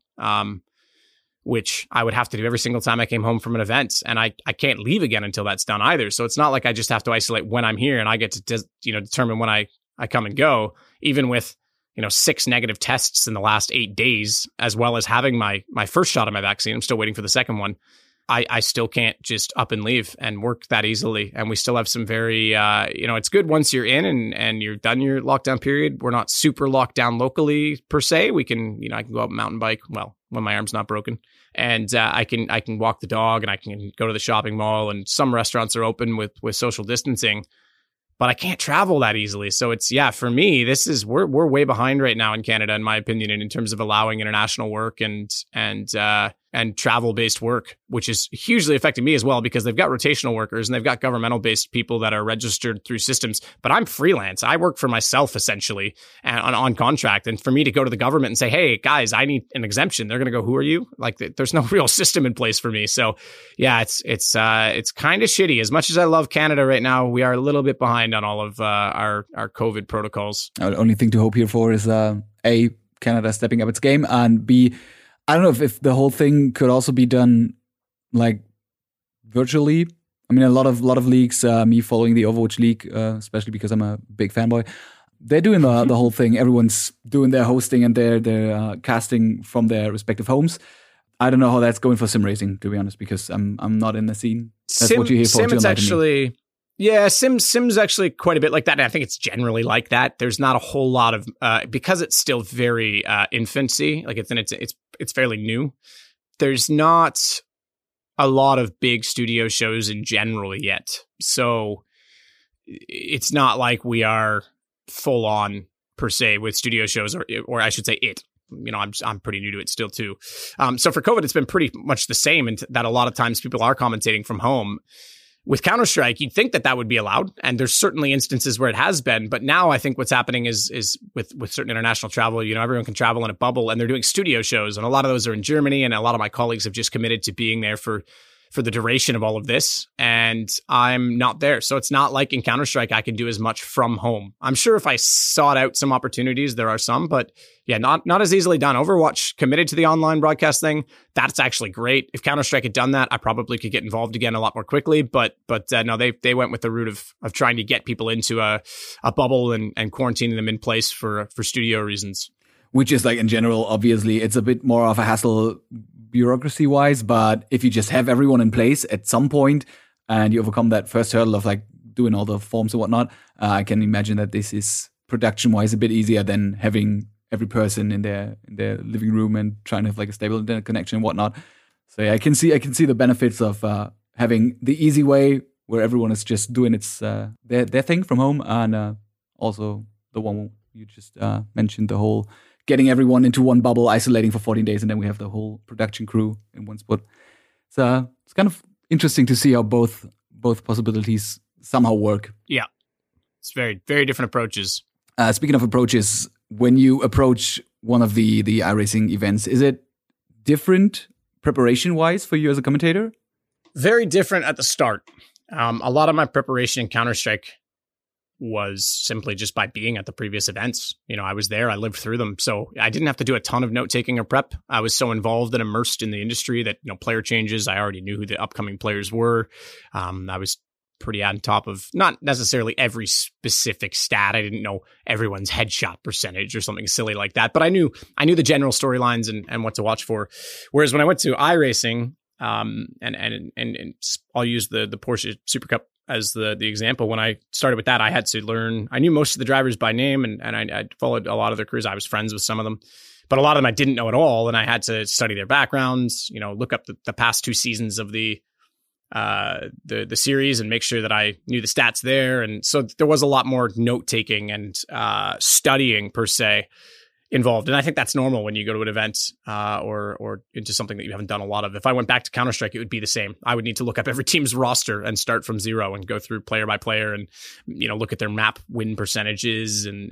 Speaker 2: which I would have to do every single time I came home from an event. And I can't leave again until that's done either. So it's not like I just have to isolate when I'm here and I get to determine when I come and go, even with 6 negative tests in the last 8 days, as well as having my first shot of my vaccine. I'm still waiting for the second one. I still can't just up and leave and work that easily. And we still have some very, it's good once you're in and you're done your lockdown period. We're not super locked down locally per se. We can, I can go out and mountain bike. Well, when my arm's not broken, and I can walk the dog and I can go to the shopping mall, and some restaurants are open with social distancing. But I can't travel that easily. So it's, for me, we're way behind right now in Canada, in my opinion, and in terms of allowing international work and travel-based work, which is hugely affecting me as well, because they've got rotational workers and they've got governmental-based people that are registered through systems. But I'm freelance. I work for myself, essentially, and on contract. And for me to go to the government and say, hey, guys, I need an exemption, they're going to go, who are you? Like, there's no real system in place for me. So, it's kind of shitty. As much as I love Canada right now, we are a little bit behind on all of our COVID protocols.
Speaker 1: The only thing to hope here for is, A, Canada stepping up its game, and B, I don't know if the whole thing could also be done like virtually. I mean, a lot of leagues, me following the Overwatch League, especially because I'm a big fanboy, they're doing the whole thing. Everyone's doing their hosting and their casting from their respective homes. I don't know how that's going for sim racing, to be honest, because I'm not in the scene. That's what you hear for.
Speaker 2: Sim, it's actually, Sim's actually quite a bit like that. And I think it's generally like that. There's not a whole lot of because it's still very infancy. Like it's fairly new. There's not a lot of big studio shows in general yet. So it's not like we are full on per se with studio shows, or I should say it. I'm pretty new to it still too. So for COVID, it's been pretty much the same, and that a lot of times people are commentating from home. With Counter-Strike, you'd think that would be allowed, and there's certainly instances where it has been. But now I think what's happening is with certain international travel, everyone can travel in a bubble, and they're doing studio shows, and a lot of those are in Germany, and a lot of my colleagues have just committed to being there for for the duration of all of this, and I'm not there. So it's not like in Counter-Strike I can do as much from home. I'm sure if I sought out some opportunities, there are some, but yeah, not as easily done. Overwatch committed to the online broadcast thing. That's actually great. If Counter-Strike had done that, I probably could get involved again a lot more quickly. But no, they went with the route of trying to get people into a bubble and quarantining them in place for studio reasons.
Speaker 1: Which is like in general, obviously, it's a bit more of a hassle bureaucracy wise. But if you just have everyone in place at some point and you overcome that first hurdle of like doing all the forms and whatnot, I can imagine that this is production wise a bit easier than having every person in their living room and trying to have like a stable internet connection and whatnot. So yeah, I can see the benefits of having the easy way where everyone is just doing their thing from home, and also the one you just mentioned, the whole getting everyone into one bubble, isolating for 14 days, and then we have the whole production crew in one spot. So it's kind of interesting to see how both possibilities somehow work.
Speaker 2: Yeah, it's very, very different approaches.
Speaker 1: Speaking of approaches, when you approach one of the iRacing events, is it different preparation-wise for you as a commentator?
Speaker 2: Very different at the start. A lot of my preparation in Counter-Strike was simply just by being at the previous events. I was there, I lived through them. So I didn't have to do a ton of note-taking or prep. I was so involved and immersed in the industry that, player changes, I already knew who the upcoming players were. I was pretty on top of not necessarily every specific stat. I didn't know everyone's headshot percentage or something silly like that, but I knew the general storylines and what to watch for. Whereas when I went to iRacing, and I'll use the Porsche Super Cup as the example. When I started with that, I had to learn. I knew most of the drivers by name, and I followed a lot of their careers. I was friends with some of them, but a lot of them I didn't know at all, and I had to study their backgrounds. Look up the past 2 seasons of the series and make sure that I knew the stats there. And so there was a lot more note taking and studying per se involved. And I think that's normal when you go to an event or into something that you haven't done a lot of. If I went back to Counter-Strike, it would be the same. I would need to look up every team's roster and start from zero and go through player by player and, look at their map win percentages and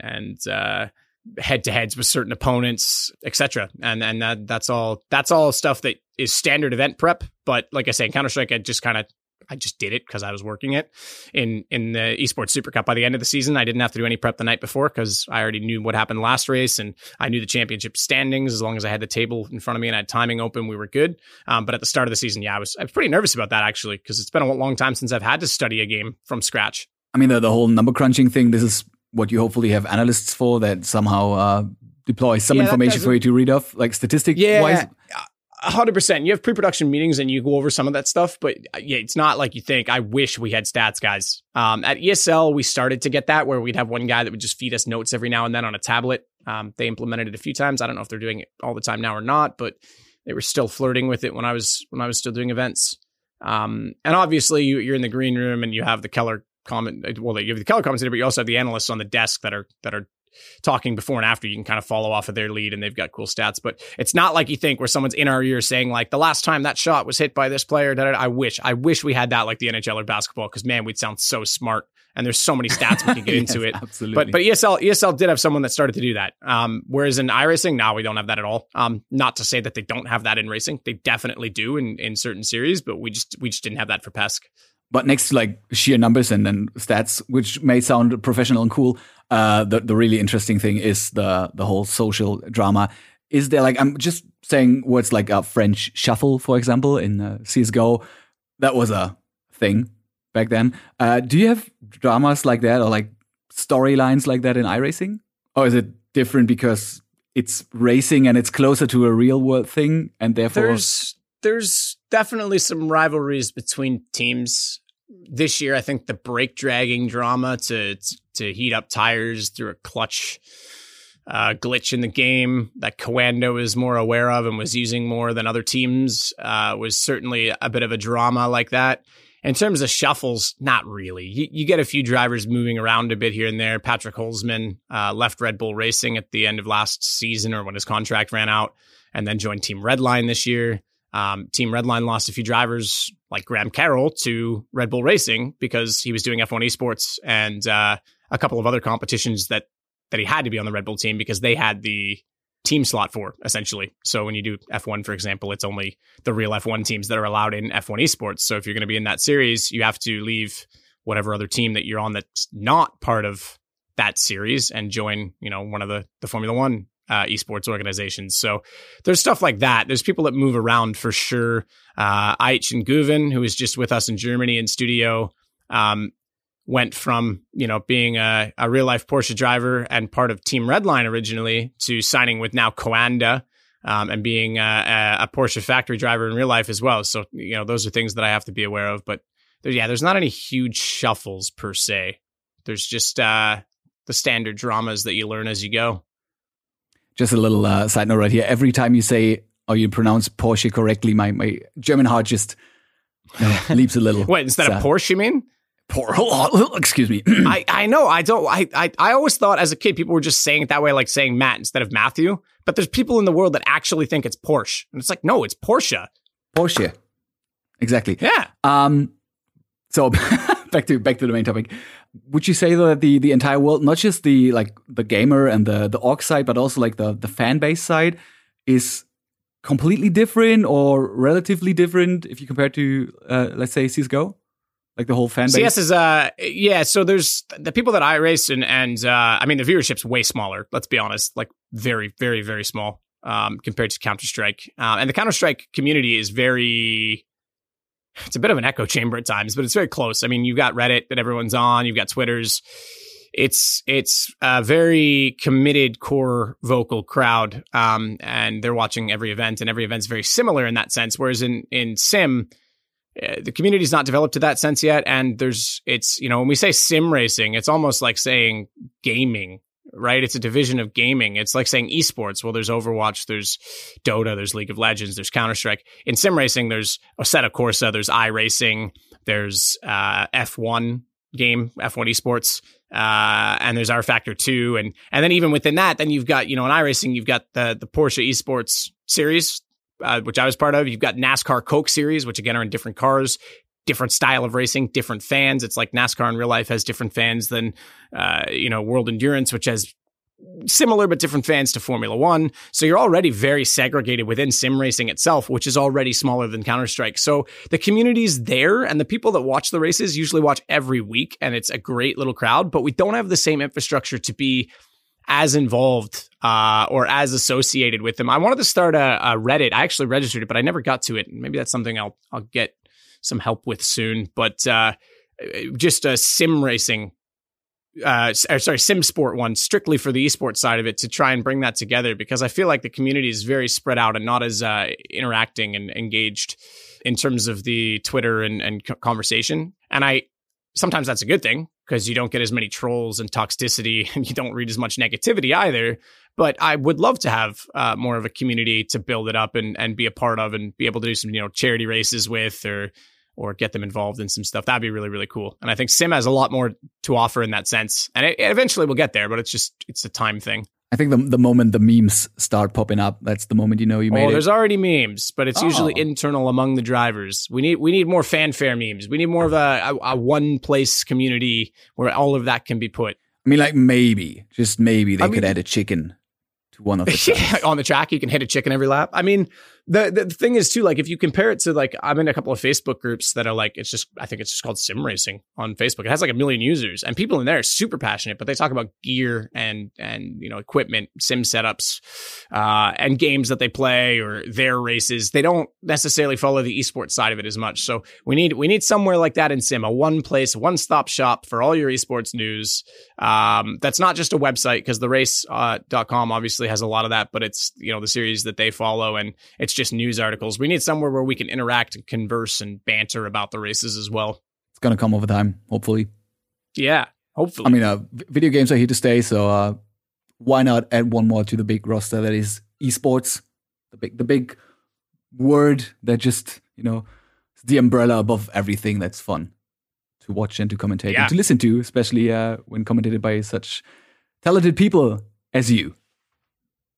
Speaker 2: head-to-heads with certain opponents, etc. And that's all stuff that is standard event prep. But like I say, in Counter-Strike, I just did it because I was working it. In the Esports Super Cup, by the end of the season, I didn't have to do any prep the night before because I already knew what happened last race, and I knew the championship standings. As long as I had the table in front of me and I had timing open, we were good. But at the start of the season, I was pretty nervous about that, actually, because it's been a long time since I've had to study a game from scratch. I mean,
Speaker 1: the whole number crunching thing, this is what you hopefully have analysts for, that somehow deploy some information for you to read off, like statistic wise.
Speaker 2: 100%. You have pre-production meetings and you go over some of that stuff, but it's not like you think. I wish we had stats guys. At ESL, we started to get that where we'd have one guy that would just feed us notes every now and then on a tablet. They implemented it a few times. I don't know if they're doing it all the time now or not, but they were still flirting with it when I was still doing events. And obviously you're in the green room and you have the color comment. Well, you have the color commentator, but you also have the analysts on the desk that are talking before and after. You can kind of follow off of their lead and they've got cool stats, but it's not like you think where someone's in our ear saying like the last time that shot was hit by this player. I wish we had that like the NHL or basketball, because man, we'd sound so smart. And there's so many stats we can get into it.
Speaker 1: Absolutely.
Speaker 2: But ESL did have someone that started to do that. Whereas in iRacing, no, we don't have that at all. Not to say that they don't have that in racing. They definitely do in certain series, but we just didn't have that for PESC.
Speaker 1: But next to like sheer numbers and then stats, which may sound professional and cool, the really interesting thing is the whole social drama. Is there like, I'm just saying words like a French shuffle, for example, in CSGO. That was a thing back then. Do you have dramas like that or like storylines like that in iRacing? Or is it different because it's racing and it's closer to a real world thing and therefore...
Speaker 2: There's definitely some rivalries between teams. This year, I think the brake dragging drama to heat up tires through a clutch glitch in the game that Coando is more aware of and was using more than other teams was certainly a bit of a drama like that. In terms of shuffles, not really. You get a few drivers moving around a bit here and there. Patrick Holzman left Red Bull Racing at the end of last season or when his contract ran out and then joined Team Redline this year. Team Redline lost a few drivers like Graham Carroll to Red Bull Racing because he was doing F1 Esports and a couple of other competitions that he had to be on the Red Bull team because they had the team slot for, essentially. So when you do F1, for example, it's only the real F1 teams that are allowed in F1 esports. So if you're going to be in that series, you have to leave whatever other team that you're on that's not part of that series and join, one of the Formula One esports organizations. So there's stuff like that. There's people that move around for sure. Aich and Guven, who is just with us in Germany in studio, went from, being a real life Porsche driver and part of Team Redline originally to signing with now Coanda, and being a Porsche factory driver in real life as well. So, those are things that I have to be aware of, but there's not any huge shuffles per se. There's just the standard dramas that you learn as you go.
Speaker 1: Just a little side note right here. Every time you say or you pronounce Porsche correctly, my German heart just leaps a little.
Speaker 2: Wait, instead of Porsche, you mean?
Speaker 1: Excuse me.
Speaker 2: I know. I always thought as a kid people were just saying it that way, like saying Matt instead of Matthew. But there's people in the world that actually think it's Porsche, and it's like, no, it's Porsche.
Speaker 1: Porsche, exactly.
Speaker 2: Yeah.
Speaker 1: So back to the main topic. Would you say though that the entire world, not just the gamer and the org side, but also like the fan base side, is completely different or relatively different if you compare to let's say CS:GO? Like the whole fan base?
Speaker 2: CS is, so there's the people that I race and I mean, the viewership's way smaller, let's be honest, like very, very, very small compared to Counter-Strike. And the Counter-Strike community is it's a bit of an echo chamber at times, but it's very close. I mean, you've got Reddit that everyone's on, you've got Twitters. It's a very committed core vocal crowd, and they're watching every event, and every event's very similar in that sense. Whereas in Sim, the community's not developed to that sense yet. And when we say sim racing, it's almost like saying gaming, right? It's a division of gaming. It's like saying esports. Well, there's Overwatch, there's Dota, there's League of Legends, there's Counter-Strike. In sim racing, there's Assetto Corsa, there's iRacing, there's F1 game, F1 esports, and there's rFactor 2. And then even within that, then you've got, in iRacing, you've got the Porsche esports series, which I was part of. You've got NASCAR Coke series, which again are in different cars, different style of racing, different fans. It's like NASCAR in real life has different fans than, World Endurance, which has similar but different fans to Formula One. So you're already very segregated within sim racing itself, which is already smaller than Counter-Strike. So the community's there, and the people that watch the races usually watch every week, and it's a great little crowd, but we don't have the same infrastructure to be as involved or as associated with them. I wanted to start a Reddit. I actually registered it, but I never got to it. Maybe that's something I'll get some help with soon. But just a sim racing, sim sport one, strictly for the esports side of it, to try and bring that together, because I feel like the community is very spread out and not as interacting and engaged in terms of the Twitter and conversation. And sometimes that's a good thing, because you don't get as many trolls and toxicity, and you don't read as much negativity either. But I would love to have more of a community to build it up and be a part of, and be able to do some, charity races with, or get them involved in some stuff. That'd be really, really cool. And I think Sim has a lot more to offer in that sense. And it eventually we'll get there, but it's a time thing.
Speaker 1: I think the moment the memes start popping up, that's the moment you made it.
Speaker 2: There's already memes, but it's usually internal among the drivers. We need more fanfare memes. We need more of a one place community where all of that can be put.
Speaker 1: I mean, like maybe they could add a chicken to one of the tracks.
Speaker 2: On the track, you can hit a chicken every lap. I mean, the thing is too, like, if you compare it to, like, I'm in a couple of Facebook groups that are like, I think it's just called Sim Racing on Facebook. It has like 1 million users, and people in there are super passionate, but they talk about gear and equipment, sim setups, and games that they play or their races. They don't necessarily follow the esports side of it as much. So we need somewhere like that in Sim, a one-stop shop for all your esports news. That's not just a website, because the race.com obviously has a lot of that, but it's, the series that they follow, and it's just news articles. We need somewhere where we can interact and converse and banter about the races as well.
Speaker 1: It's going to come over time, hopefully.
Speaker 2: Yeah, hopefully.
Speaker 1: I mean, video games are here to stay, so why not add one more to the big roster that is esports, the big word that just, is the umbrella above everything that's fun to watch and to commentate and to listen to, especially when commentated by such talented people as you.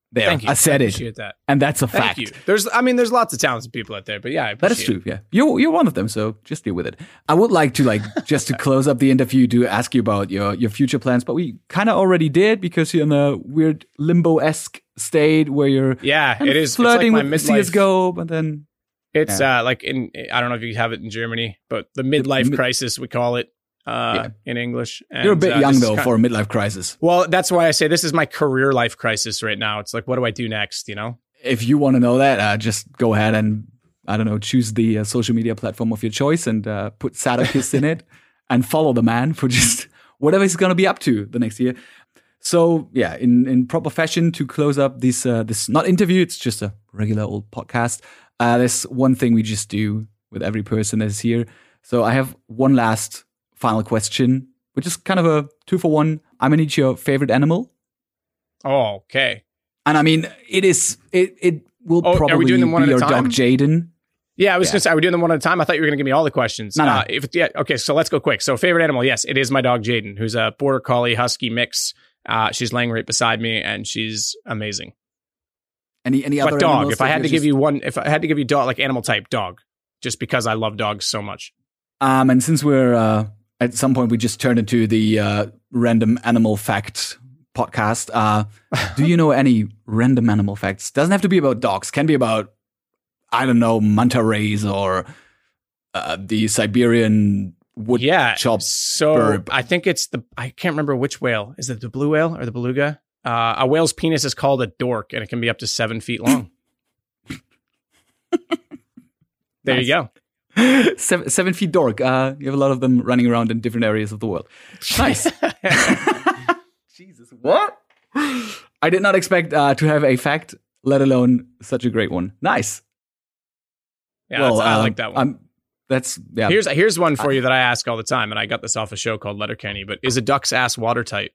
Speaker 1: There,
Speaker 2: Thank you.
Speaker 1: I said
Speaker 2: I
Speaker 1: it.
Speaker 2: appreciate that.
Speaker 1: And that's a
Speaker 2: Thank
Speaker 1: fact.
Speaker 2: you. There's lots of talented people out there, but yeah, I
Speaker 1: That is
Speaker 2: appreciate
Speaker 1: true. Yeah, you're one of them. So just deal with it. I would like to just to close up the interview to ask you about your future plans, but we kind of already did because you're in a weird limbo-esque state where you're
Speaker 2: it is
Speaker 1: flirting
Speaker 2: it's like
Speaker 1: with
Speaker 2: my midlife.
Speaker 1: CS:GO, but then
Speaker 2: It's like I don't know if you have it in Germany, but the midlife crisis we call it in English. And,
Speaker 1: you're a bit young though for a midlife crisis.
Speaker 2: Well, that's why I say this is my career life crisis right now. It's like, what do I do next? You know.
Speaker 1: If you want to know that, just go ahead and I don't know, choose the social media platform of your choice and put Sadokist in it and follow the man for just whatever he's going to be up to the next year. So yeah, in proper fashion to close up this not interview, it's just a regular old podcast. There's one thing we just do with every person that is here. So I have one last final question, which is kind of a 2-for-1. I'm gonna need your favorite animal.
Speaker 2: Oh, okay.
Speaker 1: And I mean, it will probably
Speaker 2: are we doing them one
Speaker 1: be
Speaker 2: at
Speaker 1: your
Speaker 2: a time?
Speaker 1: dog Jaden.
Speaker 2: Yeah, I was going to say, are we doing them one at a time? I thought you were going to give me all the questions.
Speaker 1: No.
Speaker 2: Okay, so let's go quick. So favorite animal, yes, it is my dog Jaden, who's a Border Collie Husky mix. She's laying right beside me, and she's amazing.
Speaker 1: Any other
Speaker 2: But dog,
Speaker 1: animals
Speaker 2: if I
Speaker 1: that
Speaker 2: had to
Speaker 1: you're
Speaker 2: give you one, if I had to give you dog, like animal type, dog, just because I love dogs so much.
Speaker 1: And since we're at some point we just turned into the random animal fact podcast. Do you know any random animal facts? Doesn't have to be about dogs. Can be about, I don't know, manta rays or the Siberian wood chop.
Speaker 2: So
Speaker 1: bird.
Speaker 2: I think it's I can't remember which whale. Is it the blue whale or the beluga? A whale's penis is called a dork, and it can be up to 7 feet long. There you go.
Speaker 1: 7 feet dork. You have a lot of them running around in different areas of the world. Nice. Jesus, what? I did not expect to have a fact, let alone such a great one. Nice.
Speaker 2: Yeah, well, I like that one.
Speaker 1: Here's
Speaker 2: one for you that I ask all the time, and I got this off a show called Letterkenny. But is a duck's ass watertight?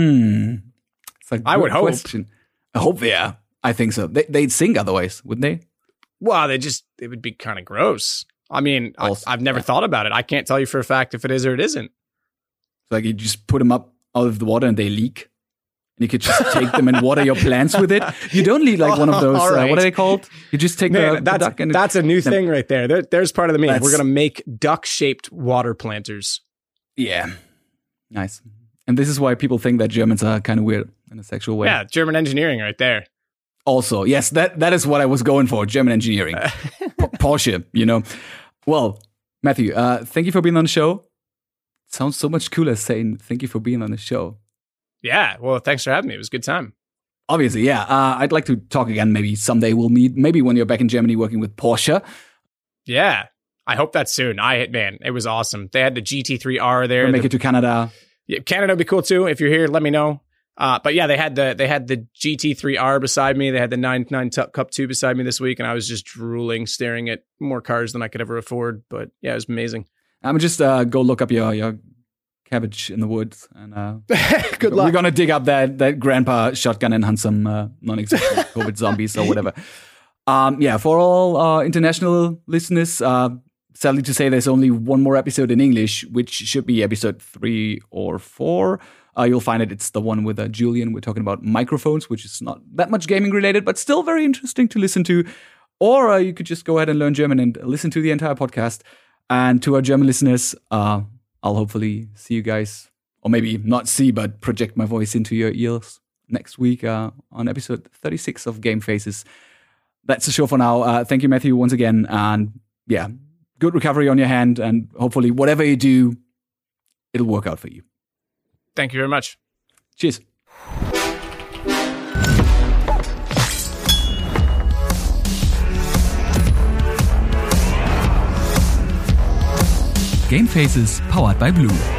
Speaker 1: It's a
Speaker 2: I would hope.
Speaker 1: Question. I hope, yeah. I think so. They'd sink otherwise, wouldn't they?
Speaker 2: Well, it would be kind of gross. I mean, I've never thought about it. I can't tell you for a fact if it is or it isn't.
Speaker 1: It's like you just put them up out of the water and they leak. And you could just take them and water your plants with it. You don't need like one of those,
Speaker 2: right.
Speaker 1: what are they called? You just take the duck and...
Speaker 2: That's a new thing right there. There's part of the meaning. We're going to make duck-shaped water planters.
Speaker 1: Yeah. Nice. And this is why people think that Germans are kind of weird in a sexual way.
Speaker 2: Yeah, German engineering right there.
Speaker 1: Also, yes, that is what I was going for, German engineering. Porsche, you know. Well, Matthew, thank you for being on the show. It sounds so much cooler saying thank you for being on the show.
Speaker 2: Yeah, well, thanks for having me. It was a good time.
Speaker 1: Obviously, yeah. I'd like to talk again. Maybe someday we'll meet. Maybe when you're back in Germany working with Porsche.
Speaker 2: Yeah, I hope that's soon. Man, it was awesome. They had the GT3R there.
Speaker 1: We'll make it to Canada.
Speaker 2: Yeah, Canada would be cool too. If you're here, let me know. But yeah, they had the GT3R beside me. They had the 99 Cup 2 beside me this week, and I was just drooling, staring at more cars than I could ever afford. But yeah, it was amazing.
Speaker 1: I'm just go look up your cabbage in the woods, and
Speaker 2: good luck.
Speaker 1: We're gonna dig up that grandpa shotgun and hunt some non-existent COVID zombies or whatever. Yeah, for all international listeners, sadly to say, there's only one more episode in English, which should be episode 3 or 4. You'll find it. It's the one with Julian. We're talking about microphones, which is not that much gaming related, but still very interesting to listen to. Or you could just go ahead and learn German and listen to the entire podcast. And to our German listeners, I'll hopefully see you guys, or maybe not see, but project my voice into your ears next week on episode 36 of Game Faces. That's the show for now. Thank you, Matthew, once again. And yeah, good recovery on your hand. And hopefully whatever you do, it'll work out for you.
Speaker 2: Thank you very much.
Speaker 1: Cheers.
Speaker 3: Game Faces powered by Blue.